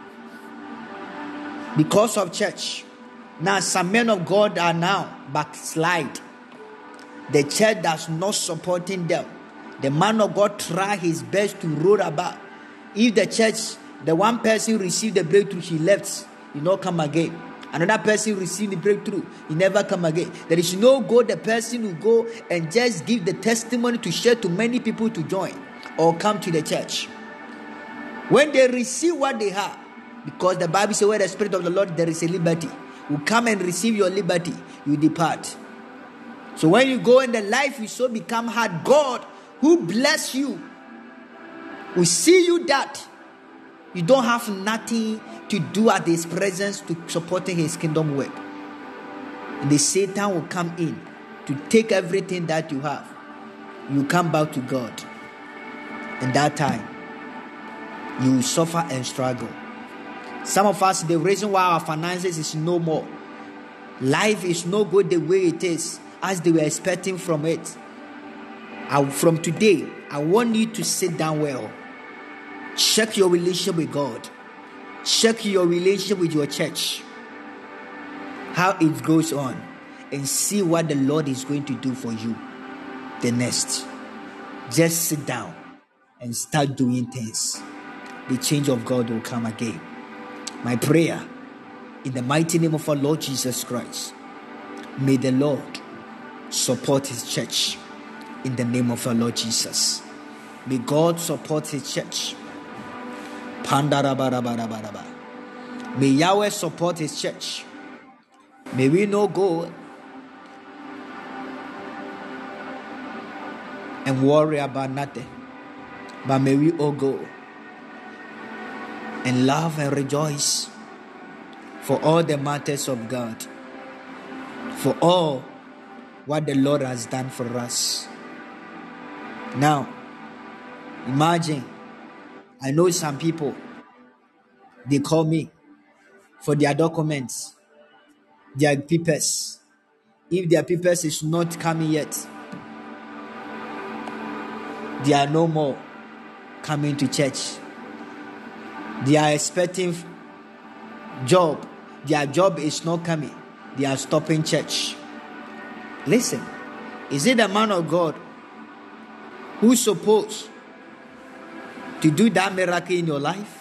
because of church, now some men of God are now backslide. The church does not supporting them. The man of God try his best to roll about. If the church, the one person received the breakthrough, he left, he not come again. Another person received the breakthrough, he never come again. There is no go, the person will go and just give the testimony to share to many people to join or come to the church. When they receive what they have, because the Bible says where the Spirit of the Lord, there is a liberty. You come and receive your liberty, you depart. So when you go in the life, you so become hard. God who bless you will see you that you don't have nothing to do at his presence to supporting his kingdom work. And the Satan will come in to take everything that you have. You come back to God. And that time, you will suffer and struggle. Some of us, the reason why our finances is no more. Life is no good the way it is, as they were expecting from it. I, from today, I want you to sit down well. Check your relationship with God. Check your relationship with your church. How it goes on. And see what the Lord is going to do for you. The next. Just sit down and start doing things. The change of God will come again. My prayer, in the mighty name of our Lord Jesus Christ, may the Lord support his church in the name of our Lord Jesus. May God support his church. May Yahweh support his church. May we not go and worry about nothing, but may we all go and love and rejoice for all the matters of God, for all what the Lord has done for us. Now, imagine, I know some people, they call me for their documents, their papers. If their papers is not coming yet, they are no more coming to church. They are expecting job. Their job is not coming. They are stopping church. Listen, is it the man of God who's supposed to do that miracle in your life?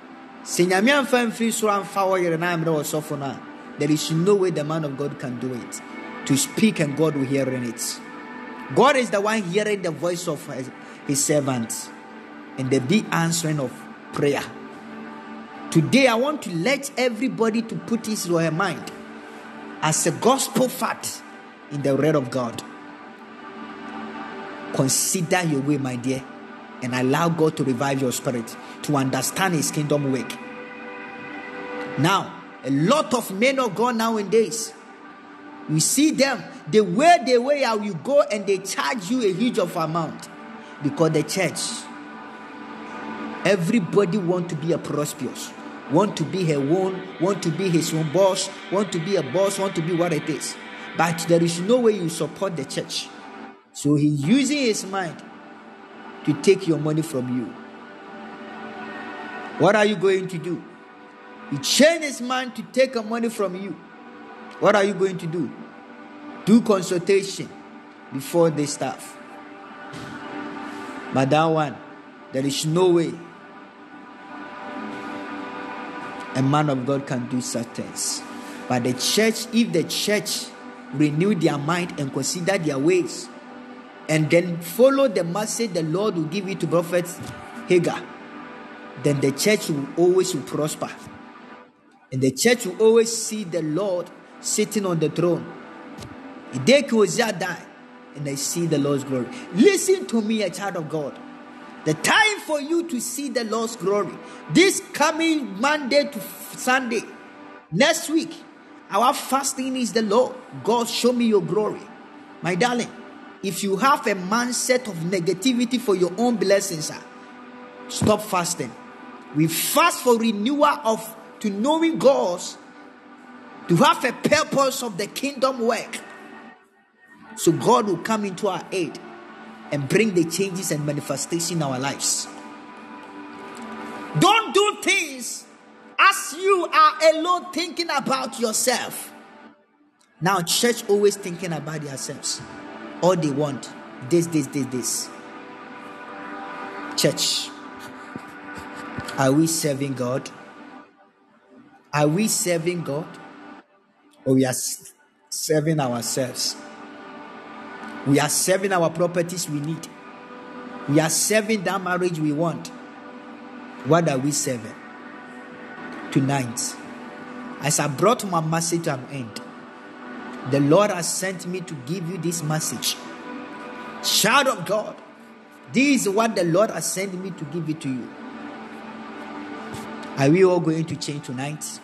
There is no way the man of God can do it. To speak and God will hear it. God is the one hearing the voice of his, his servants and the big answering of prayer. Today I want to let everybody to put this in your mind as a gospel fact in the word of God. Consider your way, my dear, and allow God to revive your spirit to understand his kingdom work. Now, a lot of men of God nowadays, you see them, the way they way how you go and they charge you a huge of amount because the church, everybody want to be a prosperous, want to be her own, want to be his own boss, want to be a boss, want to be what it is. But there is no way you support the church. So he's using his mind to take your money from you. What are you going to do? He changed his mind to take money from you. What are you going to do? Do consultation before they start. But that one, there is no way a man of God can do such things. But the church, if the church renew their mind and consider their ways, and then follow the message the Lord will give you to Prophet Hagar, then the church will always will prosper. And the church will always see the Lord sitting on the throne. The day Hosea died, and they see the Lord's glory. Listen to me, a child of God. The time for you to see the Lord's glory, this coming Monday to Sunday, next week, our fasting is the Lord. God, show me your glory. My darling, if you have a mindset of negativity for your own blessings, stop fasting. We fast for renewal of, to knowing God's, to have a purpose of the kingdom work. So God will come into our aid and bring the changes and manifestation in our lives. Don't do things as you are alone thinking about yourself. Now, church always thinking about themselves. All they want, this, this, this, this. Church, are we serving God? Are we serving God? Or we are serving ourselves? We are serving our properties we need. We are serving that marriage we want. What are we serving? Tonight, as I brought my message to an end, the Lord has sent me to give you this message. Child of God, this is what the Lord has sent me to give it to you. Are we all going to change tonight?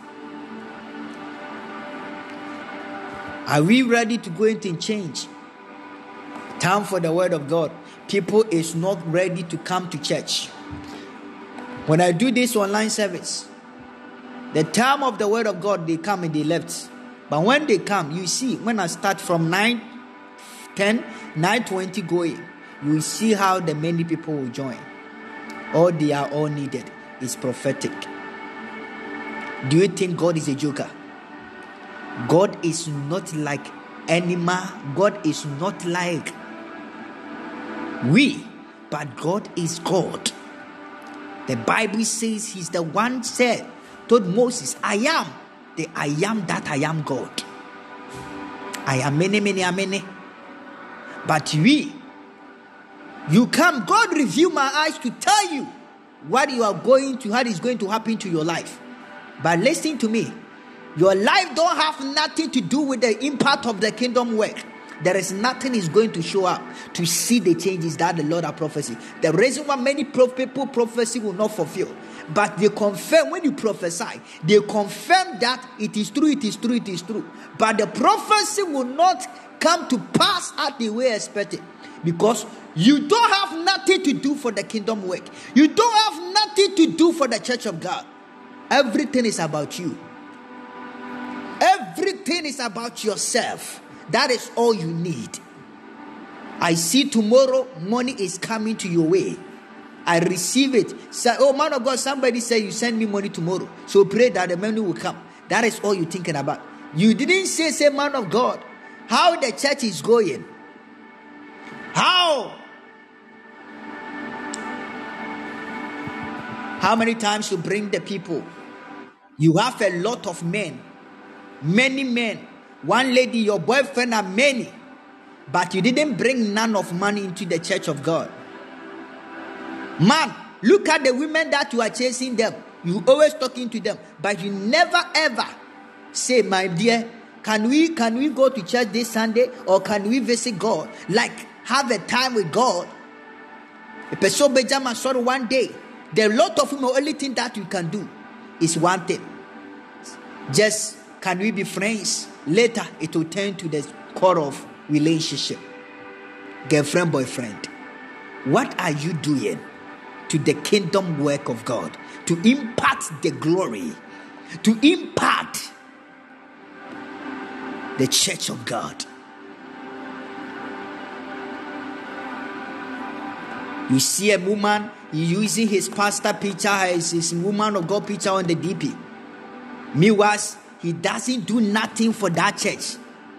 Are we ready to go into change? Time for the word of God. People is not ready to come to church. When I do this online service, the time of the word of God, they come and they left. But when they come, you see, when I start from nine ten, nine twenty going, you will see how the many people will join. All they are all needed is prophetic. Do you think God is a joker? God is not like animal. God is not like we, but God is God. The Bible says he's the one said, told Moses, I am the I am that I am God. I am many, many, many. But we, you come, God revealed my eyes to tell you what you are going to, how is going to happen to your life. But listen to me, your life don't have nothing to do with the impact of the kingdom work. There is nothing is going to show up to see the changes that the Lord has prophesied. The reason why many people prophecy will not fulfill, but they confirm when you prophesy, they confirm that it is true, it is true, it is true. But the prophecy will not come to pass at the way expected, because you don't have nothing to do for the kingdom work. You don't have nothing to do for the church of God. Everything is about you. Everything is about yourself. That is all you need. I see tomorrow money is coming to your way. I receive it. Say, oh man of God, somebody say you send me money tomorrow. So pray that the money will come. That is all you're thinking about. You didn't say, say man of God, how the church is going. How? How many times you bring the people? You have a lot of men. Many men. One lady, your boyfriend are many. But you didn't bring none of money into the church of God. Man, look at the women that you are chasing them. You always talking to them. But you never ever say, my dear, can we can we go to church this Sunday? Or can we visit God? Like, have a time with God. A person Benjamin saw one day. There are a lot of them. The only thing that you can do is one thing. Just, can we be friends? Later, it will turn to the core of relationship. Girlfriend, boyfriend. What are you doing to the kingdom work of God? To impart the glory. To impart the church of God. You see a woman using his pastor picture, his, his woman of God picture on the D P. Meanwhile, he doesn't do nothing for that church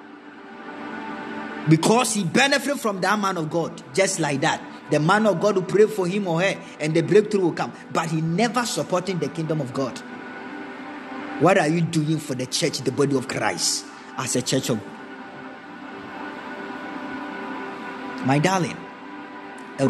because he benefited from that man of God. Just like that, the man of God will pray for him or her and the breakthrough will come, but he never supporting the kingdom of God. What are you doing for the church, the body of Christ, as a church of my darling? The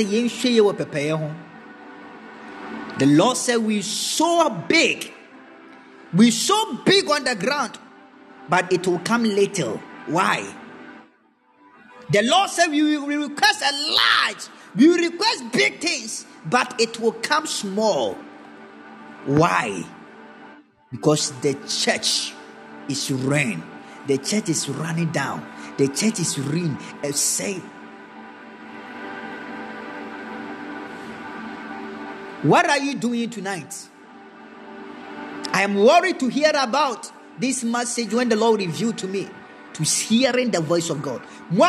Lord said we sow big. We sow big on the ground, but it will come little. Why? The Lord said we will request a large, we will request big things, but it will come small. Why? Because the church is ruined. The church is running down. The church is ruined. Say, what are you doing tonight? I am worried to hear about this message when the Lord revealed to me, to hearing the voice of God.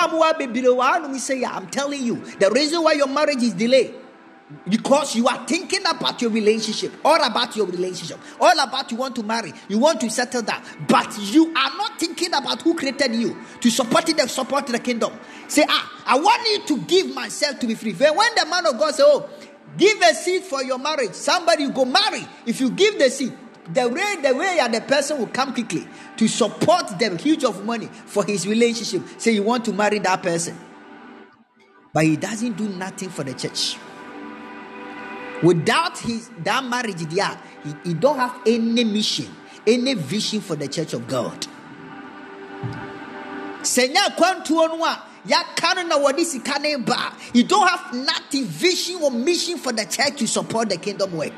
I'm telling you, the reason why your marriage is delayed, because you are thinking about your relationship, all about your relationship, all about you want to marry, you want to settle down, but you are not thinking about who created you to support the support the kingdom. Say, ah, I want you to give myself to be free. When the man of God say, oh, give a seed for your marriage, somebody go marry. If you give the seed, the way the way the person will come quickly to support the huge of money for his relationship. Say you want to marry that person, but he doesn't do nothing for the church. Without his that marriage, there he, he don't have any mission, any vision for the church of God. Senya kwantu onwa ya kanu na wadisi kane ba. You don't have nothing vision or mission for the church to support the kingdom work.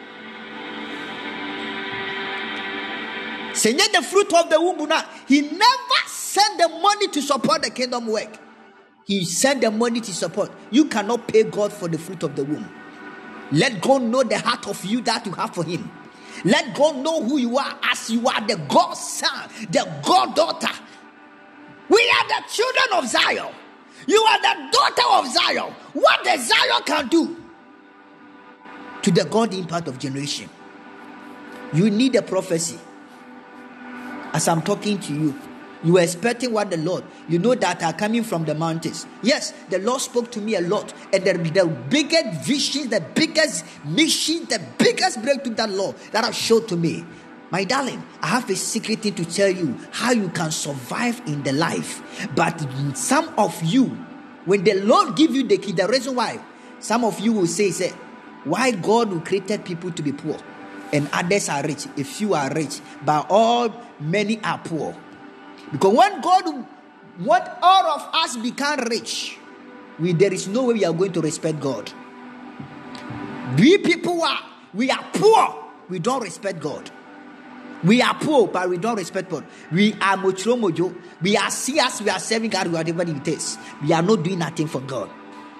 Senya the fruit of the womb na. He never sent the money to support the kingdom work. He sent the money to support. You cannot pay God for the fruit of the womb. Let God know the heart of you that you have for him. Let God know who you are, as you are the God's son, the God daughter. We are the children of Zion. You are the daughter of Zion. What the Zion can do to the God impact of generation. You need a prophecy. As I'm talking to you, you are expecting what the Lord, you know that are coming from the mountains. Yes, the Lord spoke to me a lot. And the, the biggest vision, the biggest mission, the biggest breakthrough that Lord that have showed to me. My darling, I have a secret thing to tell you how you can survive in the life. But some of you, when the Lord give you the key, the reason why, some of you will say, say, why God will created people to be poor and others are rich. A few are rich, but all many are poor. Because when God want all of us become rich, we there is no way we are going to respect God. We people are we are poor, we don't respect God. We are poor, but we don't respect God. We are mochro mojo. We are serious, we are serving God, whatever it is. We are not doing nothing for God.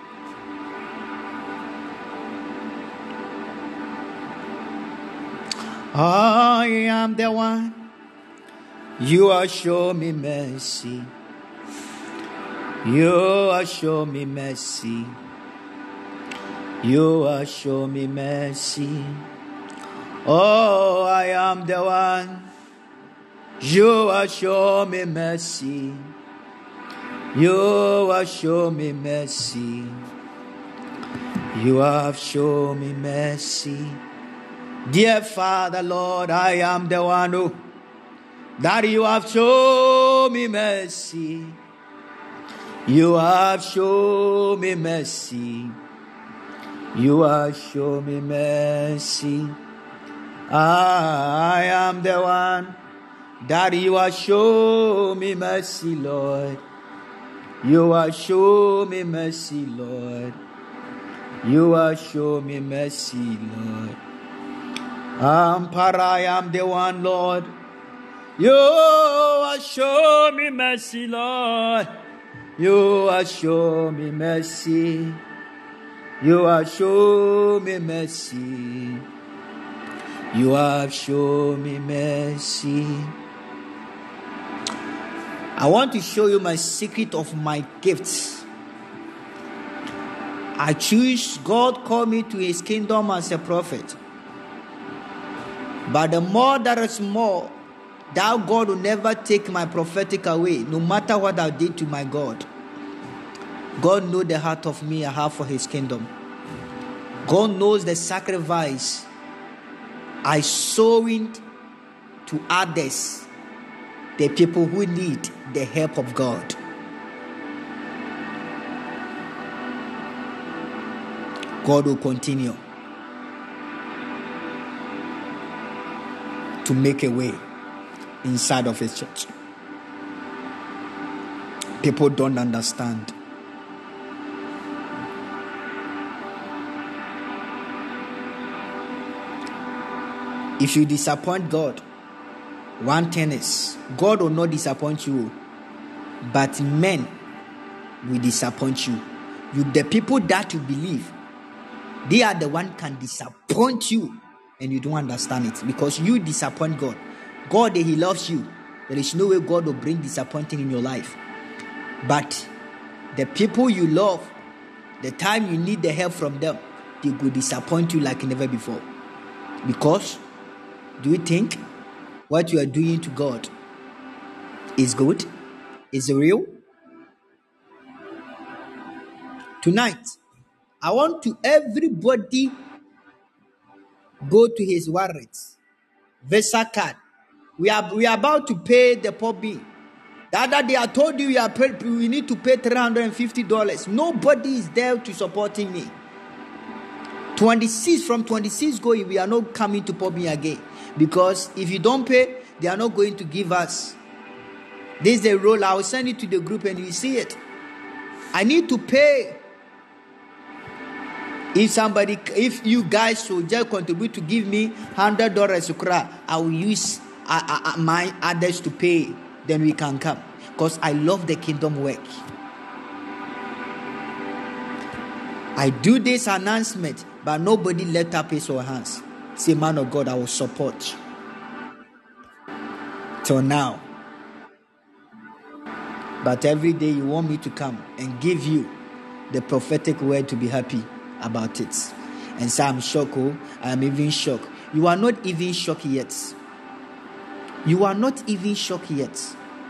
I am the one. You are show me mercy. You are show me mercy. You are show me mercy. Oh, I am the one. You are show me mercy. You are show me mercy. You have shown me mercy. Dear Father, Lord, I am the one who that you have shown me mercy. You have shown me mercy. You have shown me mercy. I am the one that you have shown me mercy, Lord. You have shown me mercy, Lord. You have shown me mercy, Lord. Ampara, I am the one, Lord. You have shown me mercy, Lord. You have shown me mercy. You have shown me mercy. You have shown me mercy. I want to show you my secret of my gifts. I choose, God called me to his kingdom as a prophet. But the more there is more, thou God will never take my prophetic away, no matter what I did to my God. God knows the heart of me I have for his kingdom. God knows the sacrifice I sowing to others, the people who need the help of God. God will continue to make a way inside of his church. People don't understand. If you disappoint God, one thing is, God will not disappoint you, but men will disappoint you. You, the people that you believe, they are the one can disappoint you, and you don't understand it because you disappoint God. God, he loves you. There is no way God will bring disappointing in your life. But the people you love, the time you need the help from them, they will disappoint you like never before. Because do you think what you are doing to God is good? Is real? Tonight, I want to everybody go to his wallet, Visa card. We are we are about to pay the pub bill. The other day I told you we are pay, we need to pay three hundred and fifty dollars. Nobody is there to supporting me. Twenty-six from twenty-six going, we are not coming to pub bill again because if you don't pay, they are not going to give us. This is a role. I will send it to the group and you see it. I need to pay. If somebody, if you guys should just contribute to give me hundred dollars, I will use uh, uh, my others to pay. Then we can come, because I love the kingdom work. I do this announcement, but nobody let up his or hands. Say, man of God, I will support. Till now. But every day you want me to come and give you the prophetic word to be happy about it. And so I'm shocked. Oh, I'm even shocked. You are not even shocked yet. You are not even shocked yet.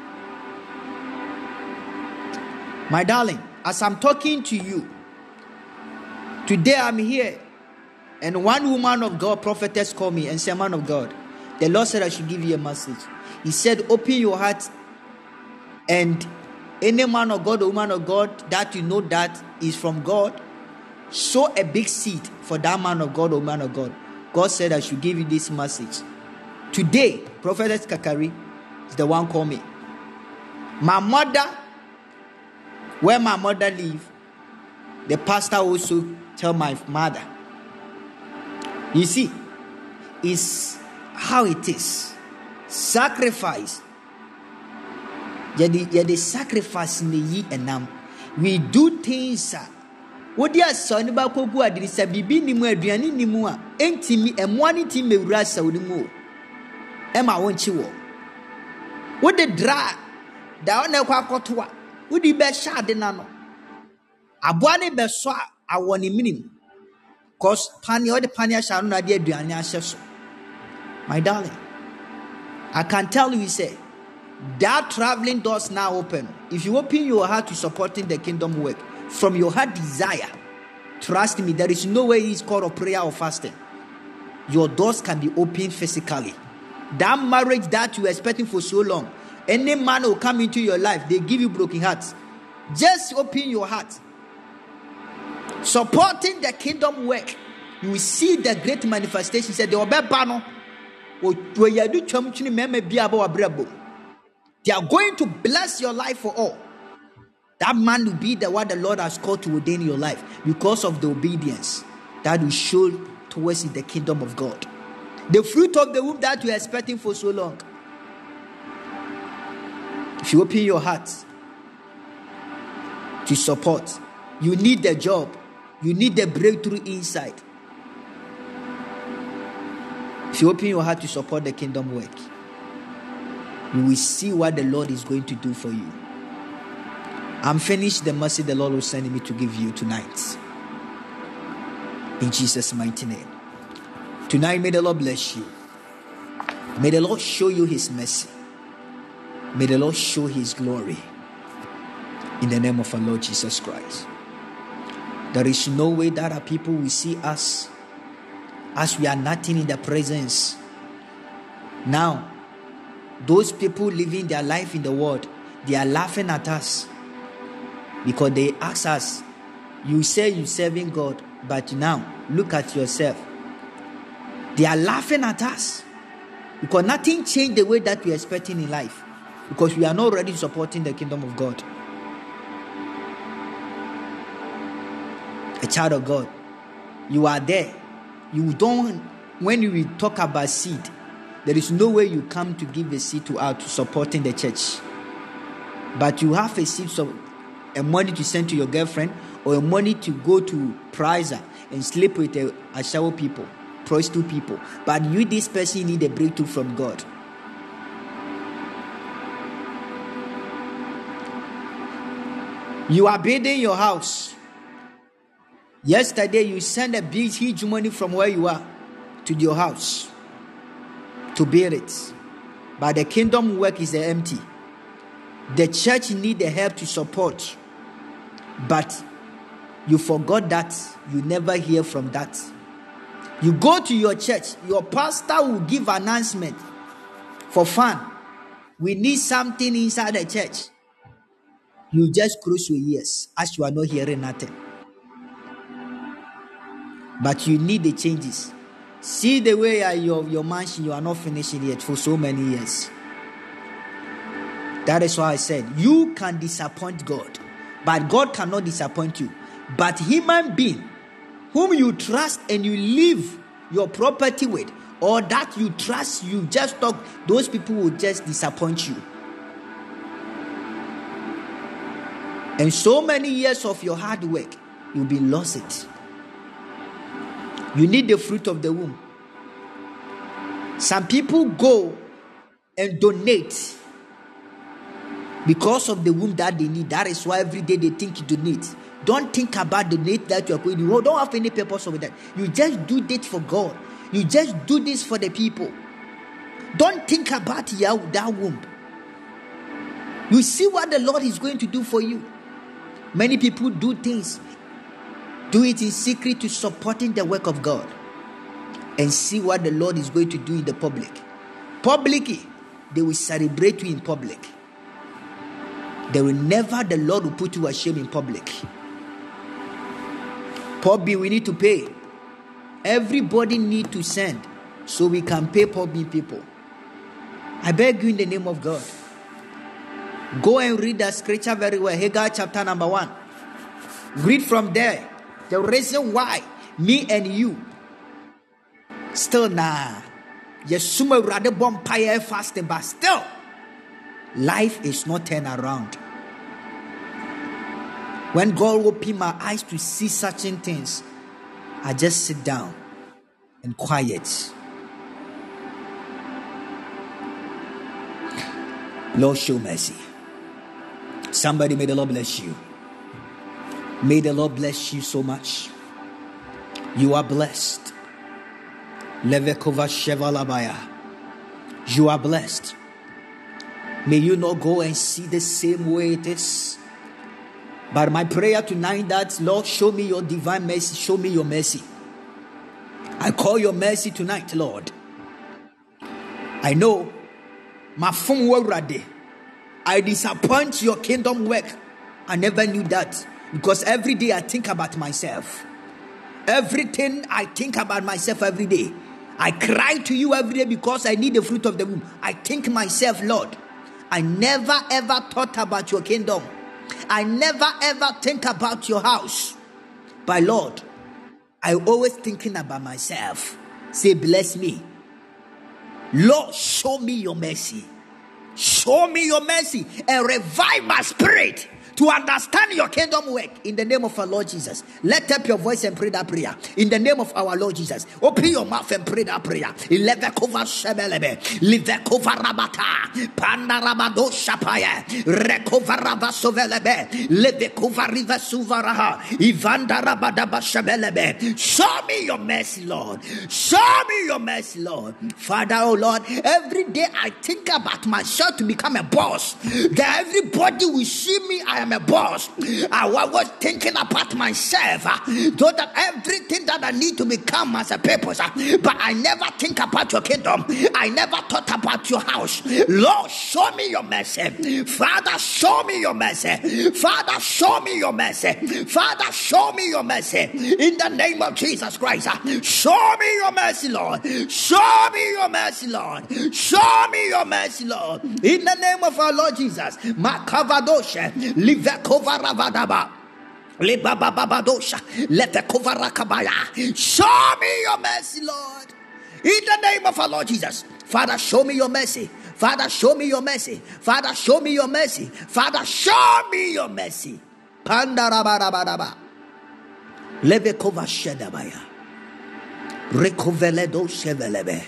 My darling, as I'm talking to you, today I'm here, and one woman of God, prophetess, called me and said, man of God, the Lord said I should give you a message. He said, open your heart, and any man of God or woman of God that you know that is from God, sow a big seed for that man of God or woman of God. God said I should give you this message. Today, Prophetess Kakari is the one called me. My mother, where my mother live, the pastor also tell my mother. You see, it's how it is. Sacrifice. Yeah, the, yeah, the sacrifice in the ye and nam. We do things. What dear son about Kogu Adrisa Bibi Nimu Adriani Nimua, Entimi, and one team may rasa with more. Emma won't you? What the dra down a quacotua? Would you be shot in nano? A boane beswa, I want a minimum. Cause Pani or the Pania shall not be Adriania. My darling, I can tell you, he said, that traveling doors now open. If you open your heart to supporting the kingdom work from your heart desire, trust me, there is no way it's called a prayer or fasting. Your doors can be opened physically. That marriage that you are expecting for so long, any man will come into your life, they give you broken hearts. Just open your heart. Supporting the kingdom work, you will see the great manifestation. He said, they are going to bless your life for all. That man will be the one the Lord has called to ordain your life because of the obedience that will show towards the kingdom of God. The fruit of the womb that you are expecting for so long. If you open your heart to support, you need the job, you need the breakthrough inside. If you open your heart to support the kingdom work, you will see what the Lord is going to do for you. I'm finished the mercy the Lord will send me to give you tonight. In Jesus' mighty name. Tonight, may the Lord bless you. May the Lord show you his mercy. May the Lord show his glory. In the name of our Lord Jesus Christ. There is no way that our people will see us as we are nothing in their presence. Now, those people living their life in the world, they are laughing at us because they ask us, you say you're serving God, but now look at yourself. They are laughing at us because nothing changed the way that we are expecting in life, because we are not ready supporting the kingdom of God. A child of God, you are there. You don't, when we talk about seed, there is no way you come to give a seed to out to supporting the church. But you have a seed, so a money to send to your girlfriend, or a money to go to Prizer and sleep with a, a shower people, prostitute people. But you, this person, need a breakthrough from God. You are building your house. Yesterday, you sent a big, huge money from where you are to your house to build it. But the kingdom work is empty. The church need the help to support. But you forgot that. You never hear from that. You go to your church. Your pastor will give announcement for fun. We need something inside the church. You just close your ears as you are not hearing nothing. But you need the changes. See the way uh, your, your mansion, you are not finishing yet for so many years. That is why I said, you can disappoint God, but God cannot disappoint you. But human being, whom you trust and you leave your property with, or that you trust, you just talk, those people will just disappoint you. And so many years of your hard work, you'll be lost it. You need the fruit of the womb. Some people go and donate because of the womb that they need. That is why every day they think you donate. Don't think about the donate that you are going to do. Don't have any purpose over that. You just do this for God. You just do this for the people. Don't think about that womb. You see what the Lord is going to do for you. Many people do things. Do it in secret to supporting the work of God. And see what the Lord is going to do in the public. Publicly, they will celebrate you in public. They will never, the Lord will put you ashamed in public. Pobby, we need to pay. Everybody need to send so we can pay Pobby people. I beg you in the name of God. Go and read that scripture very well. Haggai chapter number one. Read from there. The reason why me and you still nah. Yes, rather bonfire fasting, but still life is not turned around. When God opened my eyes to see certain things, I just sit down and quiet. Lord, show mercy. Somebody, may the Lord bless you. May the Lord bless you so much. You are blessed. Levekova Shevalabaya. You are blessed. May you not go and see the same way it is. But my prayer tonight that, Lord, show me your divine mercy. Show me your mercy. I call your mercy tonight, Lord. I know my phone were ready. I disappoint your kingdom work. I never knew that. Because every day I think about myself. Everything I think about myself every day. I cry to you every day because I need the fruit of the womb. I think myself, Lord. I never ever thought about your kingdom. I never ever think about your house. But Lord, I always thinking about myself. Say, bless me. Lord, show me your mercy. Show me your mercy and revive my spirit to understand your kingdom work in the name of our Lord Jesus. Lift up your voice and pray that prayer in the name of our Lord Jesus. Open your mouth and pray that prayer. Levekova shebelebe, levekova rabata, panda rabado shapaya, rekova ravasovelebe, levekova rivasuvaraha, ivanda rabadaba shebelebe. Show me your mercy, Lord. Show me your mercy, Lord. Father, oh Lord, every day I think about myself to become a boss. That everybody will see me, I am a boss. I was thinking about myself, uh, so that everything that I need to become as a purpose, uh, but I never think about your kingdom. I never thought about your house. Lord, show me your mercy. Father, show me your mercy. Father, show me your mercy. Father, show me your mercy. In the name of Jesus Christ, uh, show me your mercy, Lord. Show me your mercy, Lord. Show me your mercy, Lord. In the name of our Lord Jesus. Makavadoshe, Livekovaravadaba. Show me your mercy, Lord. In the name of our Lord Jesus. Father, show me your mercy. Father, show me your mercy. Father, show me your mercy. Father, show me your mercy. Pandarabarabaraba. Levekova shedabaya. Rekoveledo shevelebe.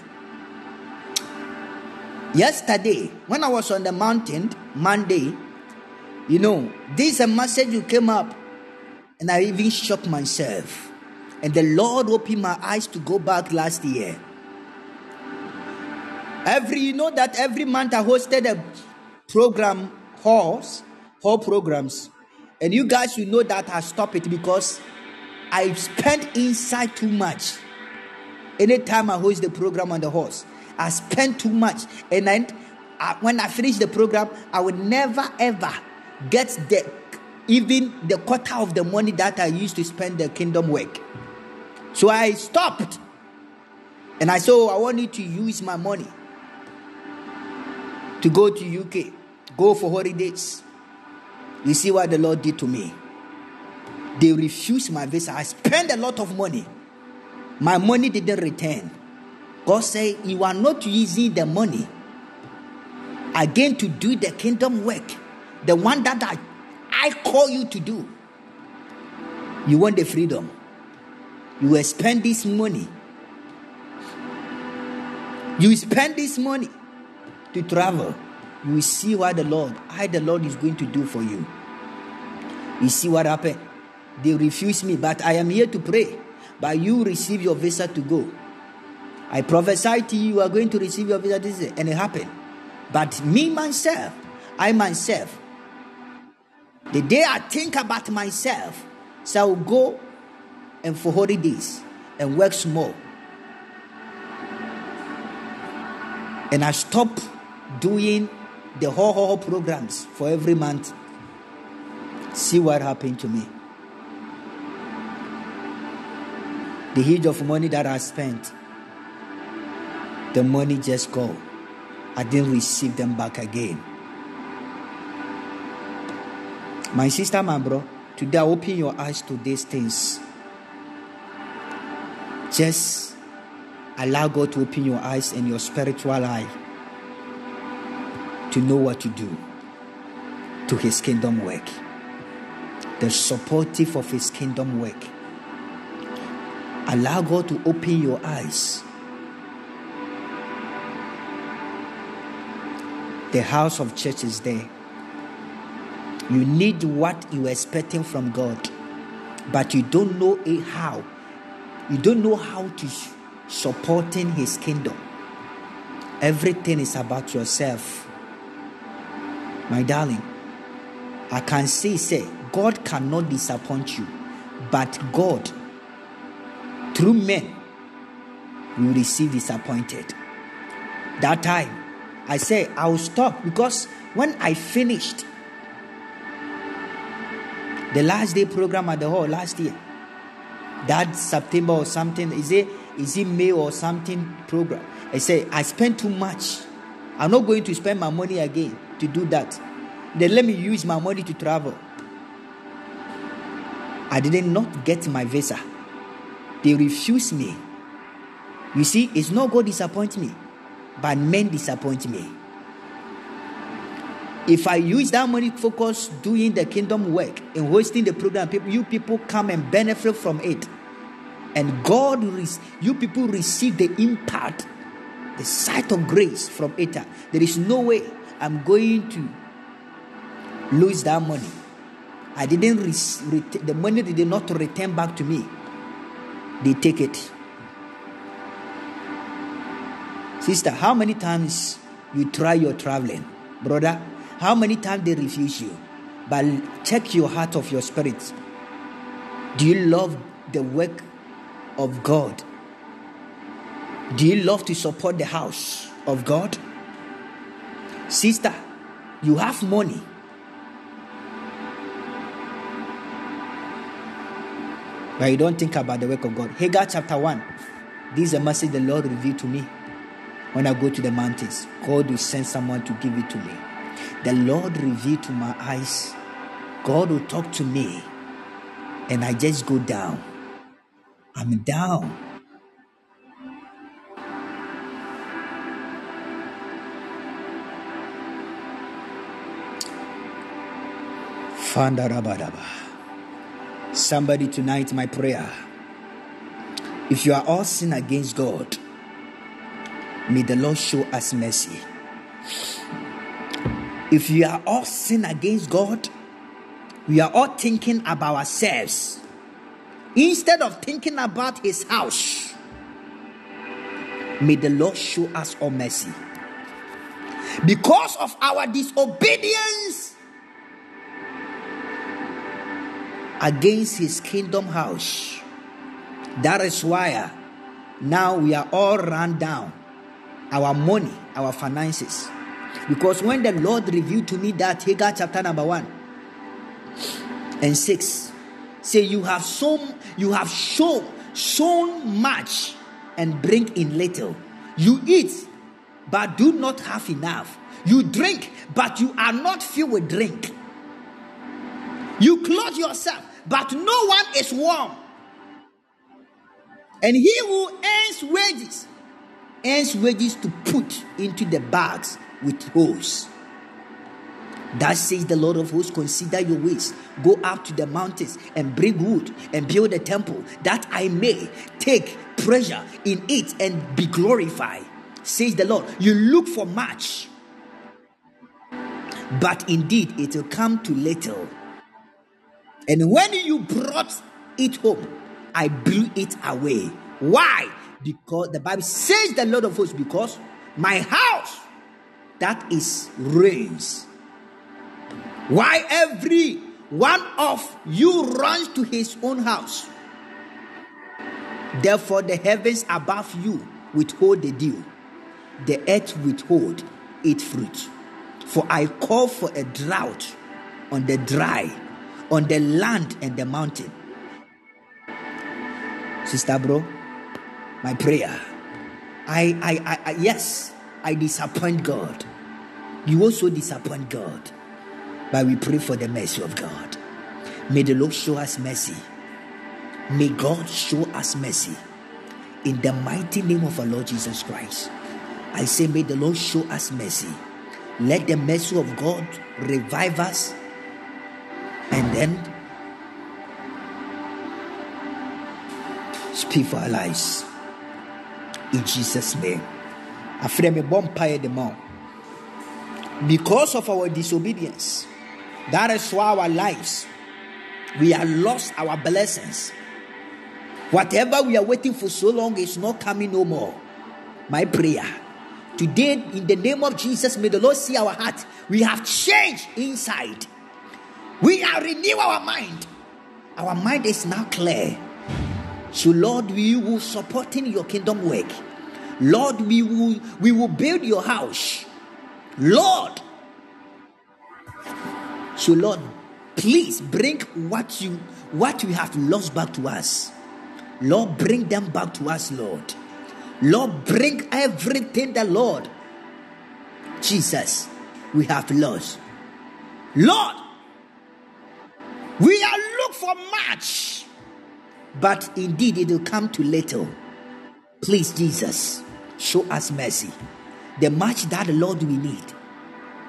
Yesterday, when I was on the mountain, Monday, you know, this a message you came up, and I even shocked myself. And the Lord opened my eyes to go back last year. Every, you know that every month I hosted a program, halls, hall programs. And you guys will know that I stopped it because I spent inside too much. Anytime I host the program on the horse, I spend too much. And then uh, when I finish the program, I will never ever get the even the quarter of the money that I used to spend the kingdom work. So I stopped. And I said, oh, I want you to use my money to go to U K, go for holidays. You see what the Lord did to me? They refused my visa. I spent a lot of money. My money didn't return. God said, you are not using the money again to do the kingdom work, the one that I, I call you to do. You want the freedom. You will spend this money. You spend this money to travel. You will see what the Lord, I the Lord is going to do for you. You see what happened? They refused me, but I am here to pray. But you receive your visa to go. I prophesy to you, you are going to receive your visa this day, and it happened. But me, myself, I myself, the day I think about myself, so I will go and for holidays and work small. And I stop doing the whole, whole programs for every month. See what happened to me. The huge of money that I spent, the money just go. I didn't receive them back again. My sister, my bro, today open your eyes to these things. Just allow God to open your eyes and your spiritual eye to know what to do to his kingdom work. The supportive of his kingdom work. Allow God to open your eyes. The house of church is there. You need what you're expecting from God, but you don't know it how. You don't know how to supporting his kingdom. Everything is about yourself. My darling, I can say, say, God cannot disappoint you, but God, through men, will receive disappointed. That time, I say, I will stop, because when I finished the last day program at the hall last year, that September or something, is it, is it May or something program? I say, I spent too much. I'm not going to spend my money again to do that. Then let me use my money to travel. I did not get my visa. They refused me. You see, it's not God disappoint me, but men disappoint me. If I use that money focus doing the kingdom work and hosting the program, people, you people come and benefit from it. And God, you people receive the impact, the sight of grace from it. There is no way I'm going to lose that money. I didn't receive the money did not return back to me. They take it. Sister, how many times you try your traveling? Brother, how many times they refuse you? But check your heart of your spirit. Do you love the work of God? Do you love to support the house of God? Sister, you have money. But you don't think about the work of God. Haggai chapter one. This is a message the Lord revealed to me. When I go to the mountains, God will send someone to give it to me. The Lord revealed to my eyes. God will talk to me. And I just go down. I'm down. Fandarabadaba. Somebody tonight, my prayer. If you are all sin against God, may the Lord show us mercy. If we are all sin against God, we are all thinking about ourselves instead of thinking about his house. May the Lord show us all mercy. Because of our disobedience against his kingdom house, that is why now we are all run down. Our money, our finances. Because when the Lord revealed to me that, Haggai chapter number one and six, say you have sown, you have shown, sown much and bring in little. You eat, but do not have enough. You drink, but you are not filled with drink. You clothe yourself, but no one is warm. And he who earns wages, earns wages to put into the bags with holes. That says the Lord of hosts, consider your ways. Go up to the mountains and bring wood and build a temple, that I may take pleasure in it and be glorified. Says the Lord. You look for much, but indeed it will come to little. And when you brought it home, I blew it away. Why? Because the Bible says the Lord of hosts, because my house, that is reigns. Why every one of you runs to his own house? Therefore the heavens above you withhold the dew, the earth withhold its fruit. For I call for a drought on the dry, on the land and the mountain. Sister bro, my prayer, I, I, I, I, yes, I disappoint God. You also disappoint God. But we pray for the mercy of God. May the Lord show us mercy. May God show us mercy. In the mighty name of our Lord Jesus Christ, I say, may the Lord show us mercy. Let the mercy of God revive us. And then speak for our lives. In Jesus' name. After me bonfire the more. Because of our disobedience, that is why our lives, we have lost our blessings. Whatever we are waiting for so long is not coming no more. My prayer today, in the name of Jesus, may the Lord see our heart. We have changed inside. We are renew our mind. Our mind is now clear. So Lord, we will support in your kingdom work. Lord, we will we will build your house. Lord, so Lord, please bring what you what we have lost back to us. Lord, bring them back to us, Lord. Lord, bring everything that, Lord Jesus, we have lost. Lord, we are look for much, but indeed it will come to little. Please, Jesus, show us mercy. The much that, Lord, we need,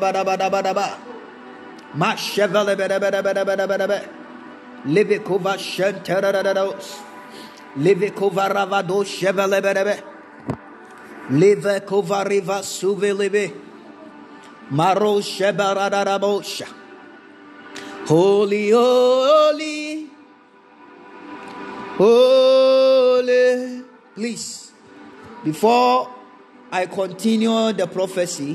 bada bada bada ba. Ma chevele bada bada bada bada bada ba. Leve kova shenteradados. Leve kova ravado chevele bada ba. Leve kova riva suve leve. Maro shebaradabosha. Holy, holy, holy. Please, before I continue the prophecy,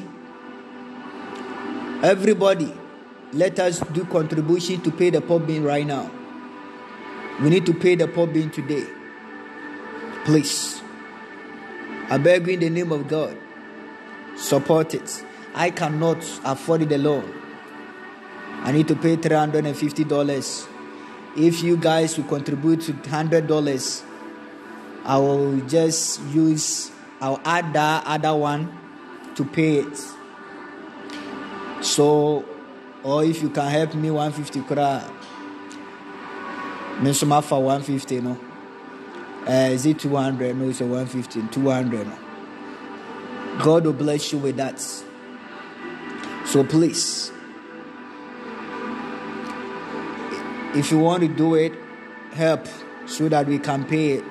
everybody, let us do contribution to pay the pub bill right now. We need to pay the pub bill today. Please, I beg you in the name of God, support it. I cannot afford it alone. I need to pay three hundred fifty dollars. If you guys will contribute to one hundred dollars, I will just use, I'll add that other one to pay it. So, or if you can help me one hundred fifty kura, Minsuma for one hundred fifty, no? Uh, is it two hundred? No, it's a one hundred fifty, two hundred. No? God will bless you with that. So please, if you want to do it, help so that we can pay it.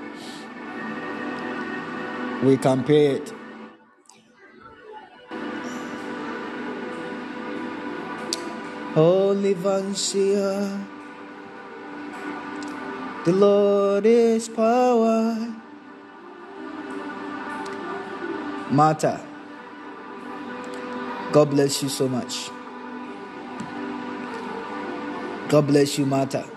We can pay it. Holy Vancia, the Lord is power. Martha, God bless you so much. God bless you, Martha.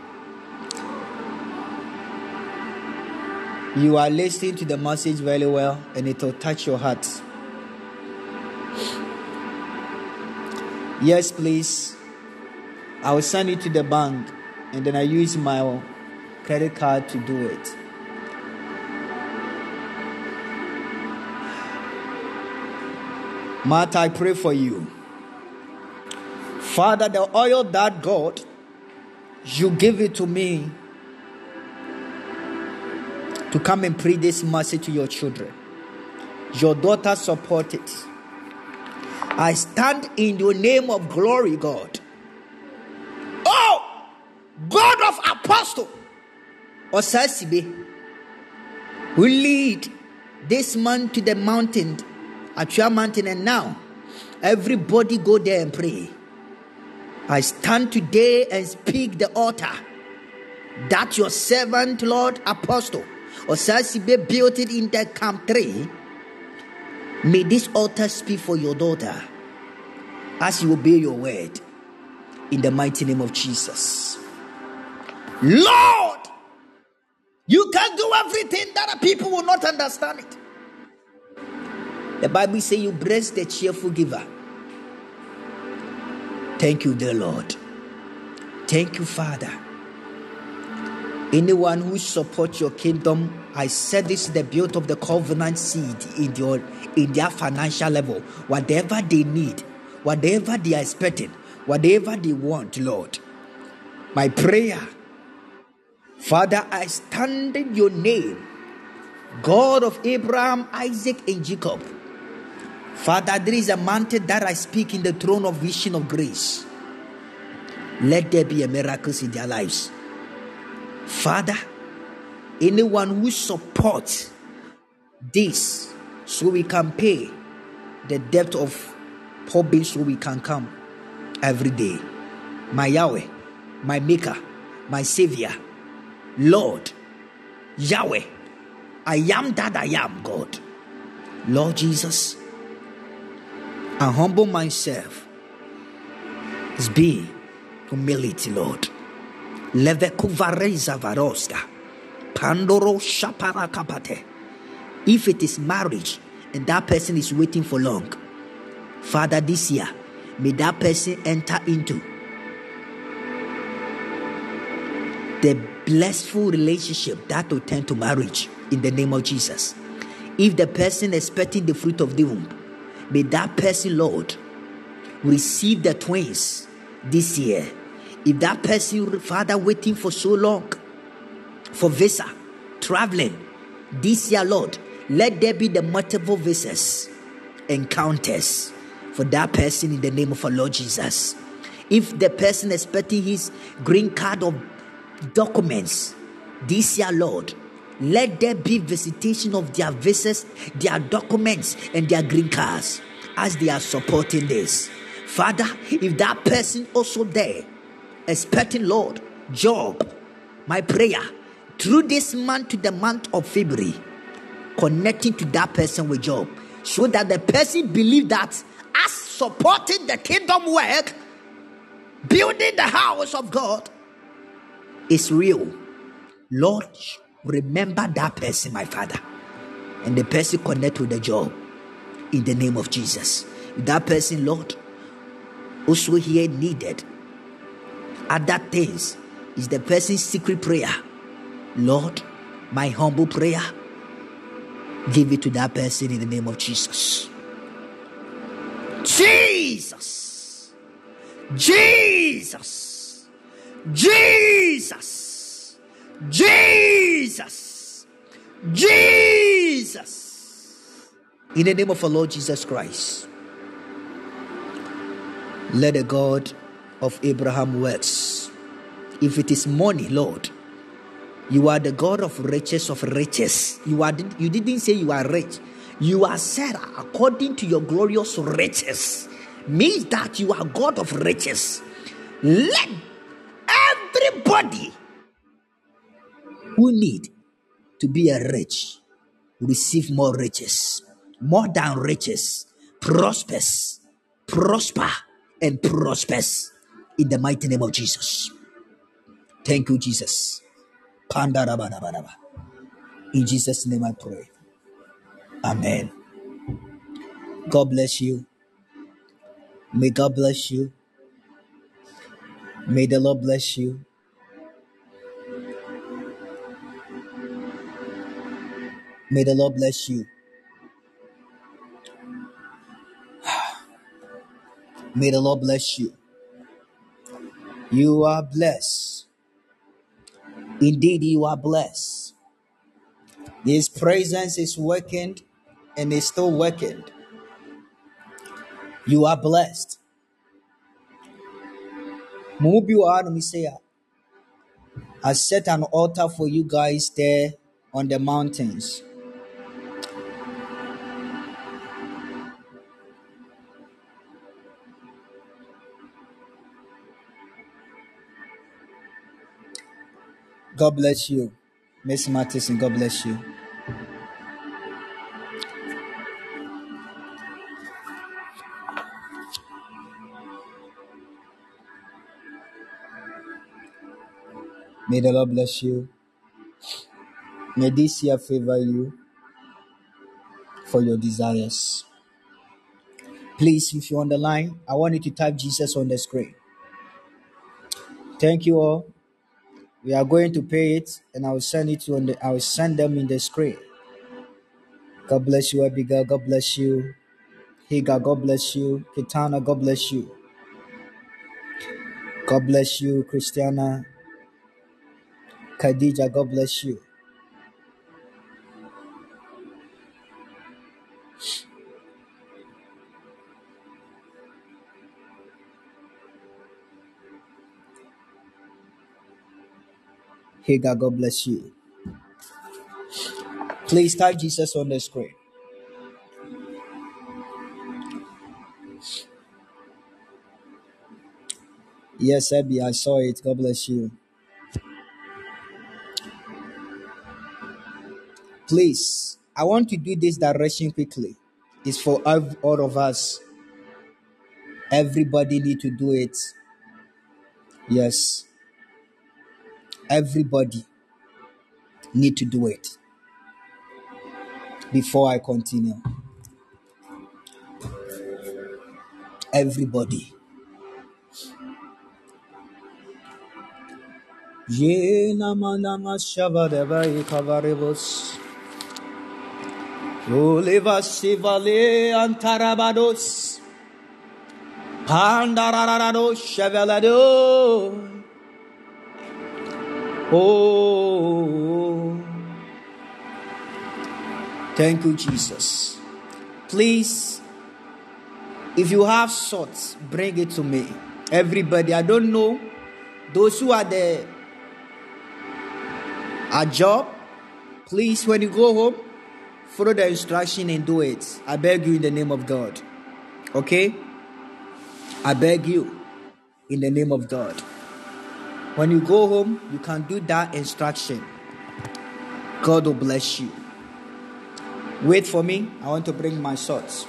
You are listening to the message very well, and it will touch your heart. Yes, please. I will send it to the bank, and then I use my credit card to do it. Martha, I pray for you. Father, the oil that God, you give it to me to come and pray this message to your children. Your daughter support it. I stand in your name of glory, God. Oh, God of Apostle Osasibe, who lead this man to the mountain, Atria Mountain, and now everybody go there and pray. I stand today and speak the altar that your servant, Lord Apostle Osasibe, built it in the camp three. May this altar speak for your daughter as you obey your word in the mighty name of Jesus. Lord, you can do everything that people will not understand it. The Bible says you bless the cheerful giver. Thank you, dear Lord. Thank you, Father. Anyone who supports your kingdom, I said this is the build of the covenant seed in your in their financial level. Whatever they need, whatever they are expecting, whatever they want, Lord. My prayer, Father, I stand in your name, God of Abraham, Isaac, and Jacob. Father, there is a mountain that I speak in the throne of vision of grace. Let there be a miracle in their lives. Father, anyone who supports this so we can pay the depth of Paul so we can come every day. My Yahweh, my Maker, my Savior, Lord, Yahweh, I am that I am, God. Lord Jesus, I humble myself. It's be humility, Lord. Levekuvareza varoska, Pandoro shapara kapate. If it is marriage and that person is waiting for long, Father, this year, may that person enter into the blissful relationship that will turn to marriage in the name of Jesus. If the person expecting the fruit of the womb, may that person, Lord, receive the twins this year. If that person, Father, waiting for so long for visa, traveling this year, Lord, let there be the multiple visas, encounters for that person in the name of our Lord Jesus. If the person expecting his green card or documents this year, Lord, let there be visitation of their visas, their documents, and their green cards as they are supporting this. Father, if that person also there expecting, Lord, job, my prayer through this month to the month of February, connecting to that person with job, so that the person believe that as supporting the kingdom work, building the house of God is real. Lord, remember that person, my Father, and the person connect with the job in the name of Jesus. That person, Lord, also here needed other things, is the person's secret prayer. Lord, my humble prayer, give it to that person in the name of Jesus. Jesus, Jesus, Jesus, Jesus, Jesus. In the name of our Lord Jesus Christ, let the God of Abraham works. If it is money, Lord, you are the God of riches of riches. You are. You didn't say you are rich. You are said according to your glorious riches. Means that you are God of riches. Let everybody who need to be a rich receive more riches, more than riches, prospers, prosper, and prospers in the mighty name of Jesus. Thank you, Jesus. In Jesus' name I pray. Amen. God bless you. May God bless you. May the Lord bless you. May the Lord bless you. May the Lord bless you. You are blessed. Indeed, you are blessed. His presence is working and is still working. You are blessed. I set an altar for you guys there on the mountains. God bless you. Miss Mattison, God bless you. May the Lord bless you. May this year favor you for your desires. Please, if you're on the line, I want you to type Jesus on the screen. Thank you all. We are going to pay it, and I will send it to on the, I will send them in the screen. God bless you, Abigail. God bless you. Higa, God bless you. Kitana, God bless you. God bless you, Christiana. Khadija, God bless you. Higa, God bless you. Please type Jesus on the screen. Yes, Abby, I saw it. God bless you. Please, I want to do this direction quickly. It's for all of us. Everybody need to do it. Yes. Everybody need to do it. Before I continue. Everybody. Ye nama nama shavadeva ikavaribus. Oliva sivale antarabados. Pandararado chevelado. Oh, thank you, Jesus. Please, if you have swords, bring it to me. Everybody, I don't know. Those who are there at job, please, when you go home, follow the instruction and do it. I beg you in the name of God. Okay? I beg you in the name of God. When you go home, you can do that instruction. God will bless you. Wait for me. I want to bring my swords.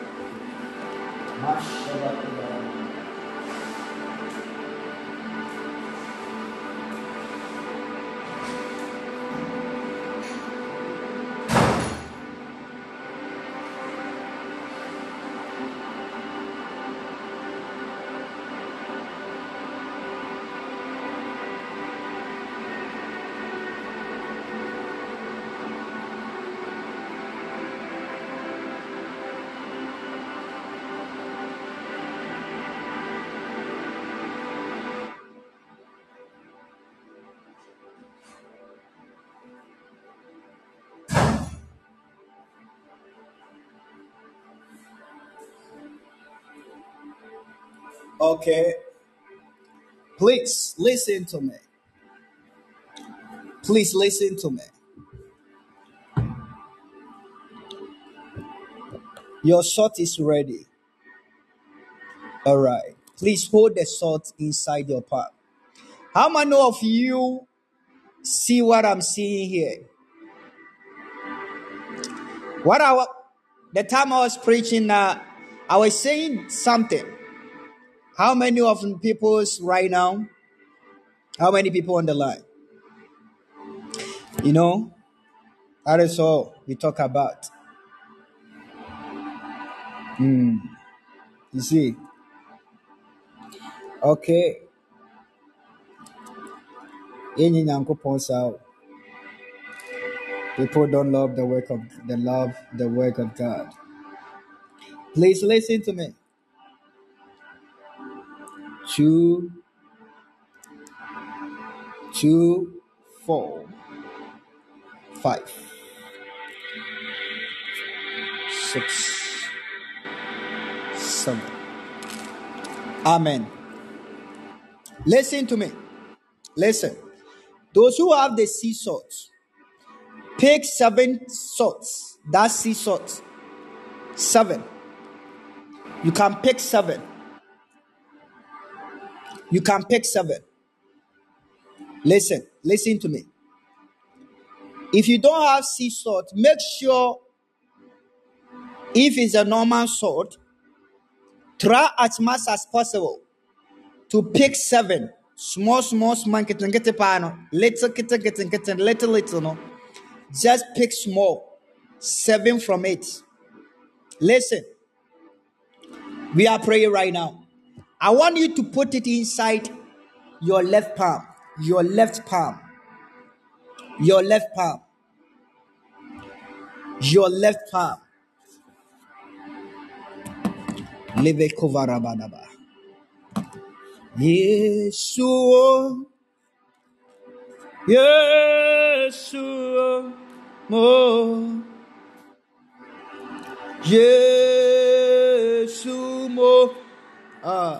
Okay. Please listen to me. Please listen to me. Your sword is ready. All right. Please hold the sword inside your palm. How many of you see what I'm seeing here? What I wa- the time I was preaching, uh, I was saying something. How many of the people right now? How many people on the line? You know, that is all we talk about. Mm, you see? Okay. People don't love the work of they love the work of God. Please listen to me. Two, two, four, five, six, seven. Amen. Listen to me. Listen. Those who have the sea salt, pick seven salts. That's sea salt. Seven. You can pick seven. You can pick seven. Listen. Listen to me. If you don't have sea salt, make sure if it's a normal salt, try as much as possible to pick seven. Small, small, small, kitten, kitten, pano, little, kitten, kitten, kitten, little, little, no. Just pick small. Seven from it. Listen. We are praying right now. I want you to put it inside your left palm. Your left palm. Your left palm. Your left palm. Leve kovarabadaba. Yesu. Yesu. Mo. Yesu mo. Ah.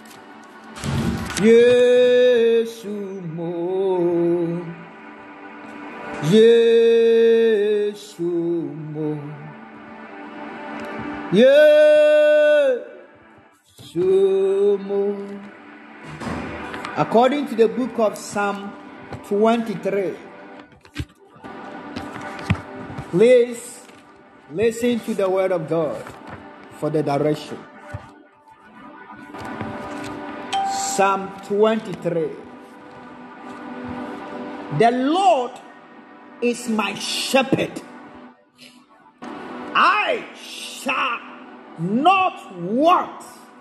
Yesu mo. Yesu mo. Yesu mo. According to the book of Psalm twenty-three, please listen to the word of God for the direction. Psalm twenty-three. The Lord is my shepherd. I shall not want.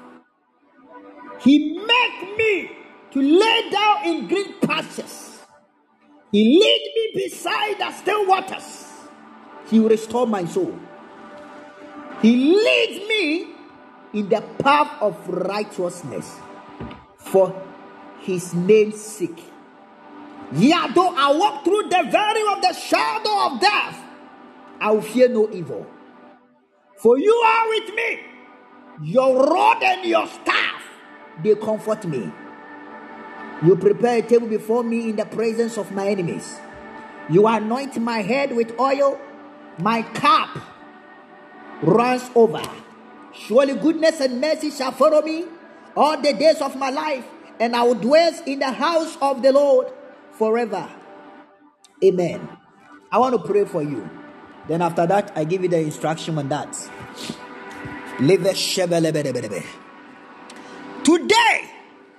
He make me to lay down in green pastures. He lead me beside the still waters. He will restore my soul. He leads me in the path of righteousness for his name's sake. Yea, though I walk through the valley of the shadow of death, I will fear no evil. For you are with me. Your rod and your staff, they comfort me. You prepare a table before me in the presence of my enemies. You anoint my head with oil. My cup runs over. Surely goodness and mercy shall follow me all the days of my life, and I will dwell in the house of the Lord forever. Amen. I want to pray for you. Then after that, I give you the instruction on that. Today,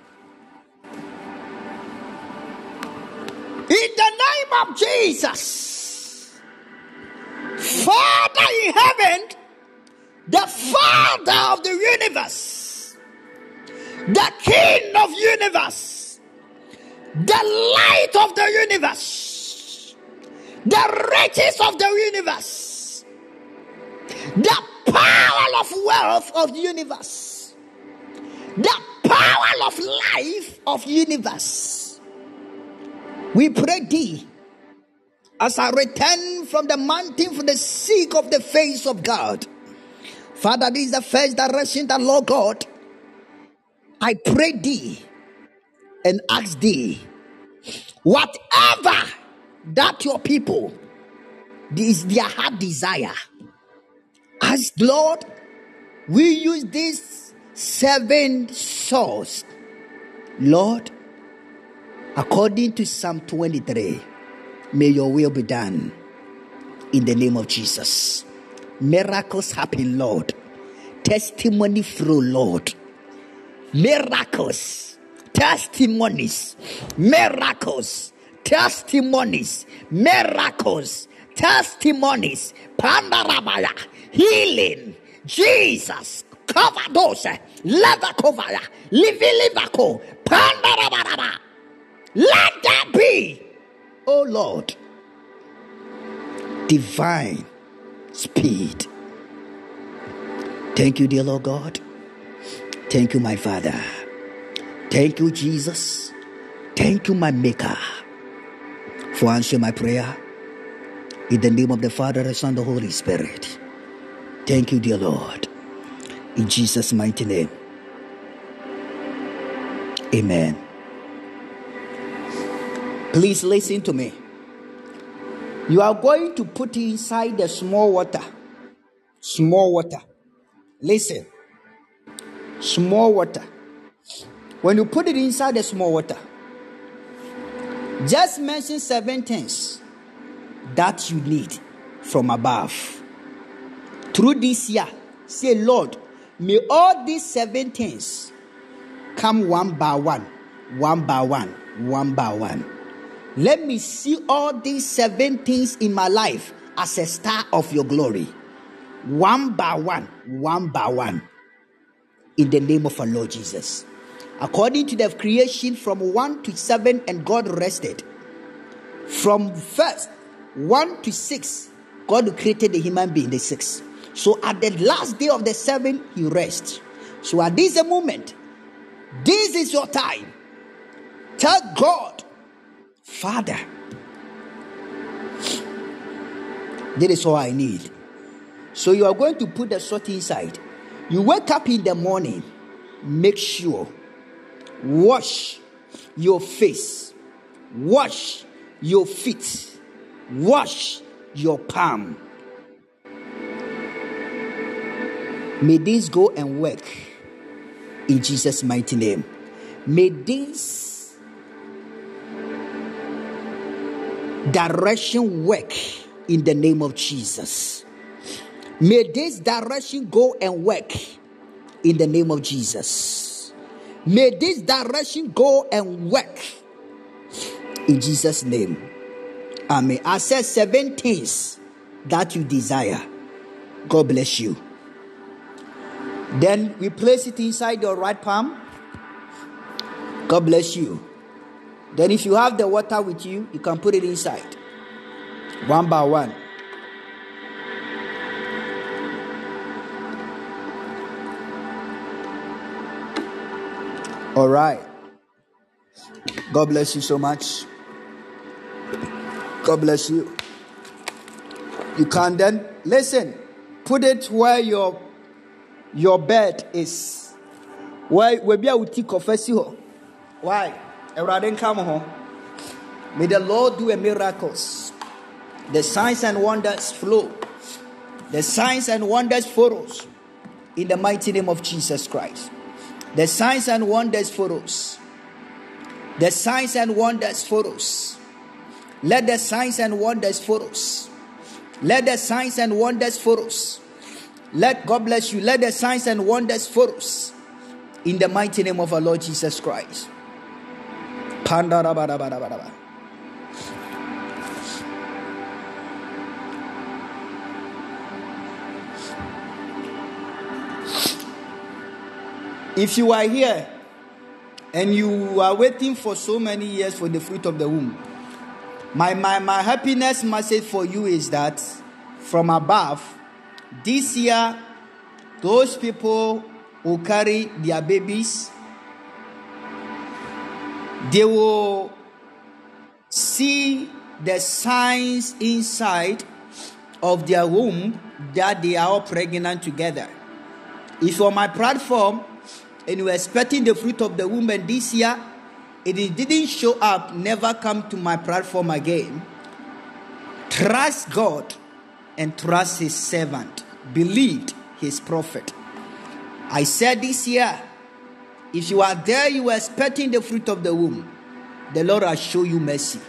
in the name of Jesus, Father in heaven, the Father of the universe, the King of universe, the light of the universe, the riches of the universe, the power of wealth of the universe, the power of life of universe. We pray thee, as I return from the mountain for the sake of the face of God. Father, this is the first direction that, Lord God, I pray thee and ask thee, whatever that your people, this is their heart desire, as Lord, we use these seven souls, Lord, according to Psalm twenty-three, may your will be done in the name of Jesus. Miracles happen, Lord. Testimony flow, Lord. Miracles, testimonies, miracles, testimonies, miracles, testimonies, Pandarabaya, healing, Jesus, cover those, leva kovaya, livi livako, Pandarababa. Let that be, oh Lord, divine speed. Thank you, dear Lord God. Thank you, my Father. Thank you, Jesus. Thank you, my Maker, for answering my prayer. In the name of the Father, the Son, the Holy Spirit. Thank you, dear Lord. In Jesus' mighty name. Amen. Please listen to me. You are going to put inside the small water. Small water. Listen. Small water. When you put it inside the small water, just mention seven things that you need from above. Through this year, say, Lord, may all these seven things come one by one, one by one, one by one. Let me see all these seven things in my life as a star of your glory. One by one, one by one. In the name of our Lord Jesus. According to the creation from one to seven, and God rested. From first one to six, God created the human being, the six. So at the last day of the seven, he rests. So at this moment, this is your time. Tell God, Father, this is all I need. So you are going to put the salt inside. You wake up in the morning, make sure, wash your face, wash your feet, wash your palm. May this go and work in Jesus' mighty name. May this direction work in the name of Jesus. May this direction go and work in the name of Jesus. May this direction go and work in Jesus' name. Amen. I said seven things that you desire. God bless you. Then we place it inside your right palm. God bless you. Then if you have the water with you, you can put it inside. One by one. All right. God bless you so much. God bless you. You can then, listen, put it where your your bed is. Why? We be able to confess you. Why? May the Lord do a miracles. The signs and wonders flow. The signs and wonders follows in the mighty name of Jesus Christ. The signs and wonders follows. The signs and wonders follows. Let the signs and wonders follows. Let the signs and wonders follows. Let God bless you. Let the signs and wonders follows in the mighty name of our Lord Jesus Christ. If you are here and you are waiting for so many years for the fruit of the womb, my, my, my happiness message for you is that from above, this year, those people who carry their babies, they will see the signs inside of their womb that they are all pregnant together. If on my platform, and you are expecting the fruit of the womb, and this year it didn't show up, never come to my platform again. Trust God and trust his servant. Believed his prophet. I said this year, if you are there, you are expecting the fruit of the womb, the Lord will show you mercy.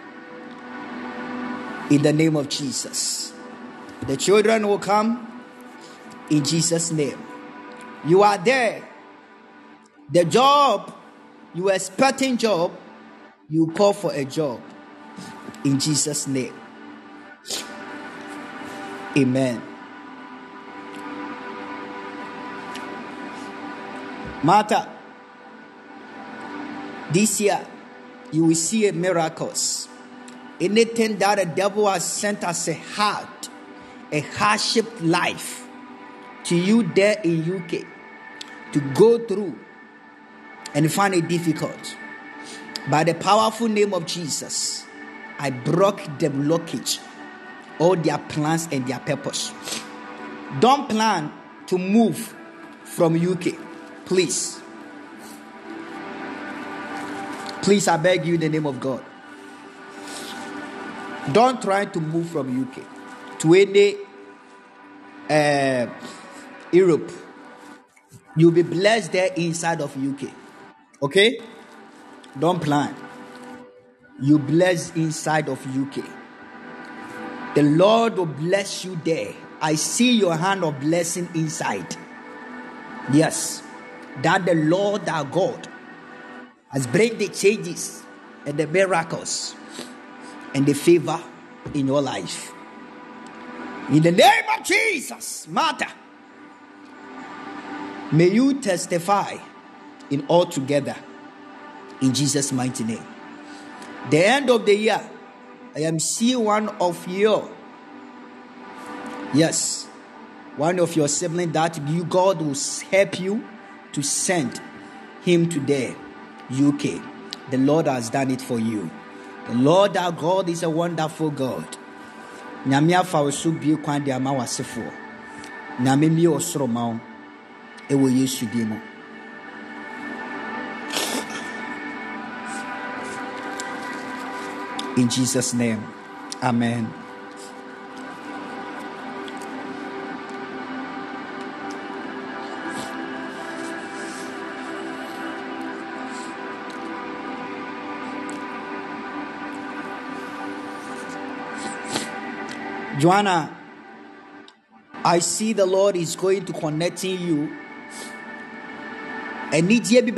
In the name of Jesus. The children will come in Jesus' name. You are there. The job, you are expecting job, you call for a job. In Jesus' name. Amen. Martha, this year, you will see a miracles. Anything that the devil has sent as a hard, a hardship life to you there in U K to go through and find it difficult. By the powerful name of Jesus, I broke the blockage, all their plans and their purpose. Don't plan to move from U K. Please. Please, I beg you in the name of God. Don't try to move from U K to any uh, Europe. You'll be blessed there inside of U K. Okay? Don't plan. You bless inside of U K. The Lord will bless you there. I see your hand of blessing inside. Yes. That the Lord our God has brought the changes and the miracles and the favor in your life. In the name of Jesus, Martha, may you testify in all together in Jesus' mighty name. The end of the year, I am seeing one of your, yes, one of your siblings that you, God will help you to send him to there, U K. The Lord has done it for you. The Lord our God is a wonderful God. Nyame afa so bie kwan de ama wasefo. Nyame mi osoro ma e wo Yesu di mu. In Jesus' name. Amen. Joanna, I see the Lord is going to connecting you. And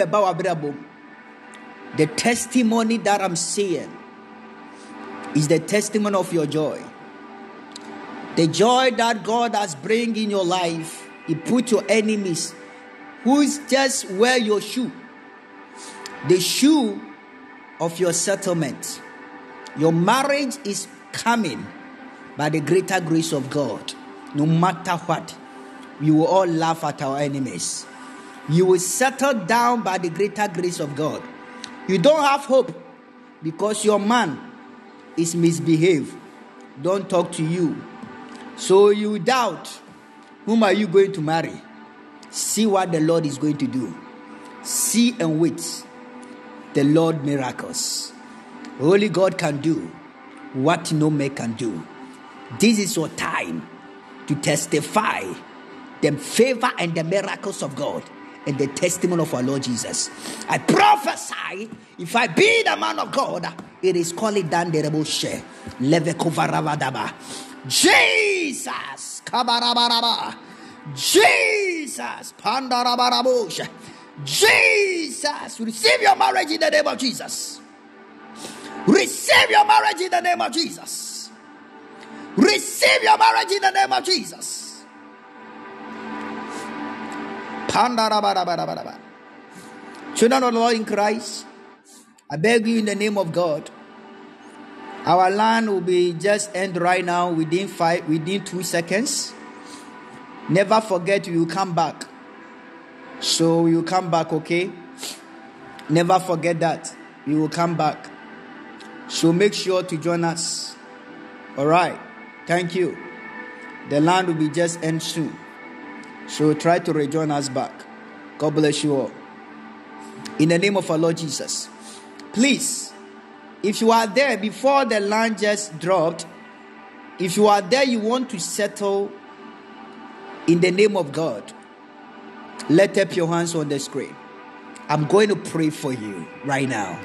the testimony that I'm seeing is the testimony of your joy. The joy that God has bring in your life, He put your enemies who's just wear your shoe. The shoe of your settlement. Your marriage is coming by the greater grace of God. No matter what, we will all laugh at our enemies. You will settle down by the greater grace of God. You don't have hope because your man is misbehaved. Don't talk to you. So you doubt, whom are you going to marry? See what the Lord is going to do. See and wait. The Lord miracles. Only God can do what no man can do. This is your time to testify the favor and the miracles of God and the testimony of our Lord Jesus. I prophesy, if I be the man of God, it is called it down the reboshe. Levekovaravadaba. Jesus. Kabarabaraba. Jesus. Pandarabarabosh. Jesus. Receive your marriage in the name of Jesus. Receive your marriage in the name of Jesus. Receive your marriage in the name of Jesus. Children of the Lord in Christ, I beg you in the name of God, our land will be just end right now within five, within two seconds. Never forget we will come back. So we will come back, okay? Never forget that. We will come back. So make sure to join us. All right. Thank you. The land will be just end soon. So try to rejoin us back. God bless you all. In the name of our Lord Jesus. Please, if you are there before the land just dropped, if you are there, you want to settle in the name of God, let up your hands on the screen. I'm going to pray for you right now.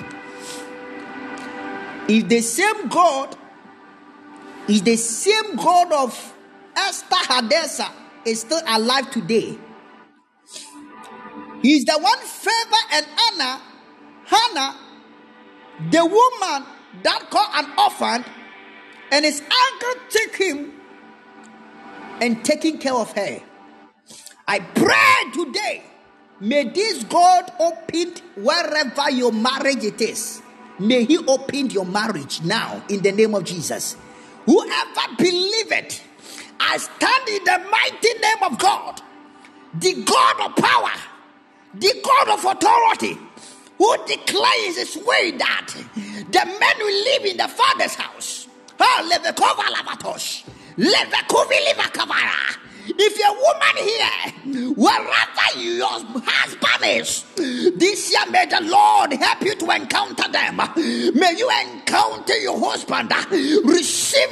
If the same God is the same God of Esther Hadassah is still alive today, He's the one favor and honor Hannah, the woman that called an orphan, and his uncle took him and taking care of her. I pray today, may this God open wherever your marriage it is. May He open your marriage now in the name of Jesus. Whoever believe it, I stand in the mighty name of God, the God of power, the God of authority, who declares His way that the men will live in the Father's house. If you're a woman here, wherever your husband is, this year may the Lord help you to encounter them. May you encounter your husband. Receive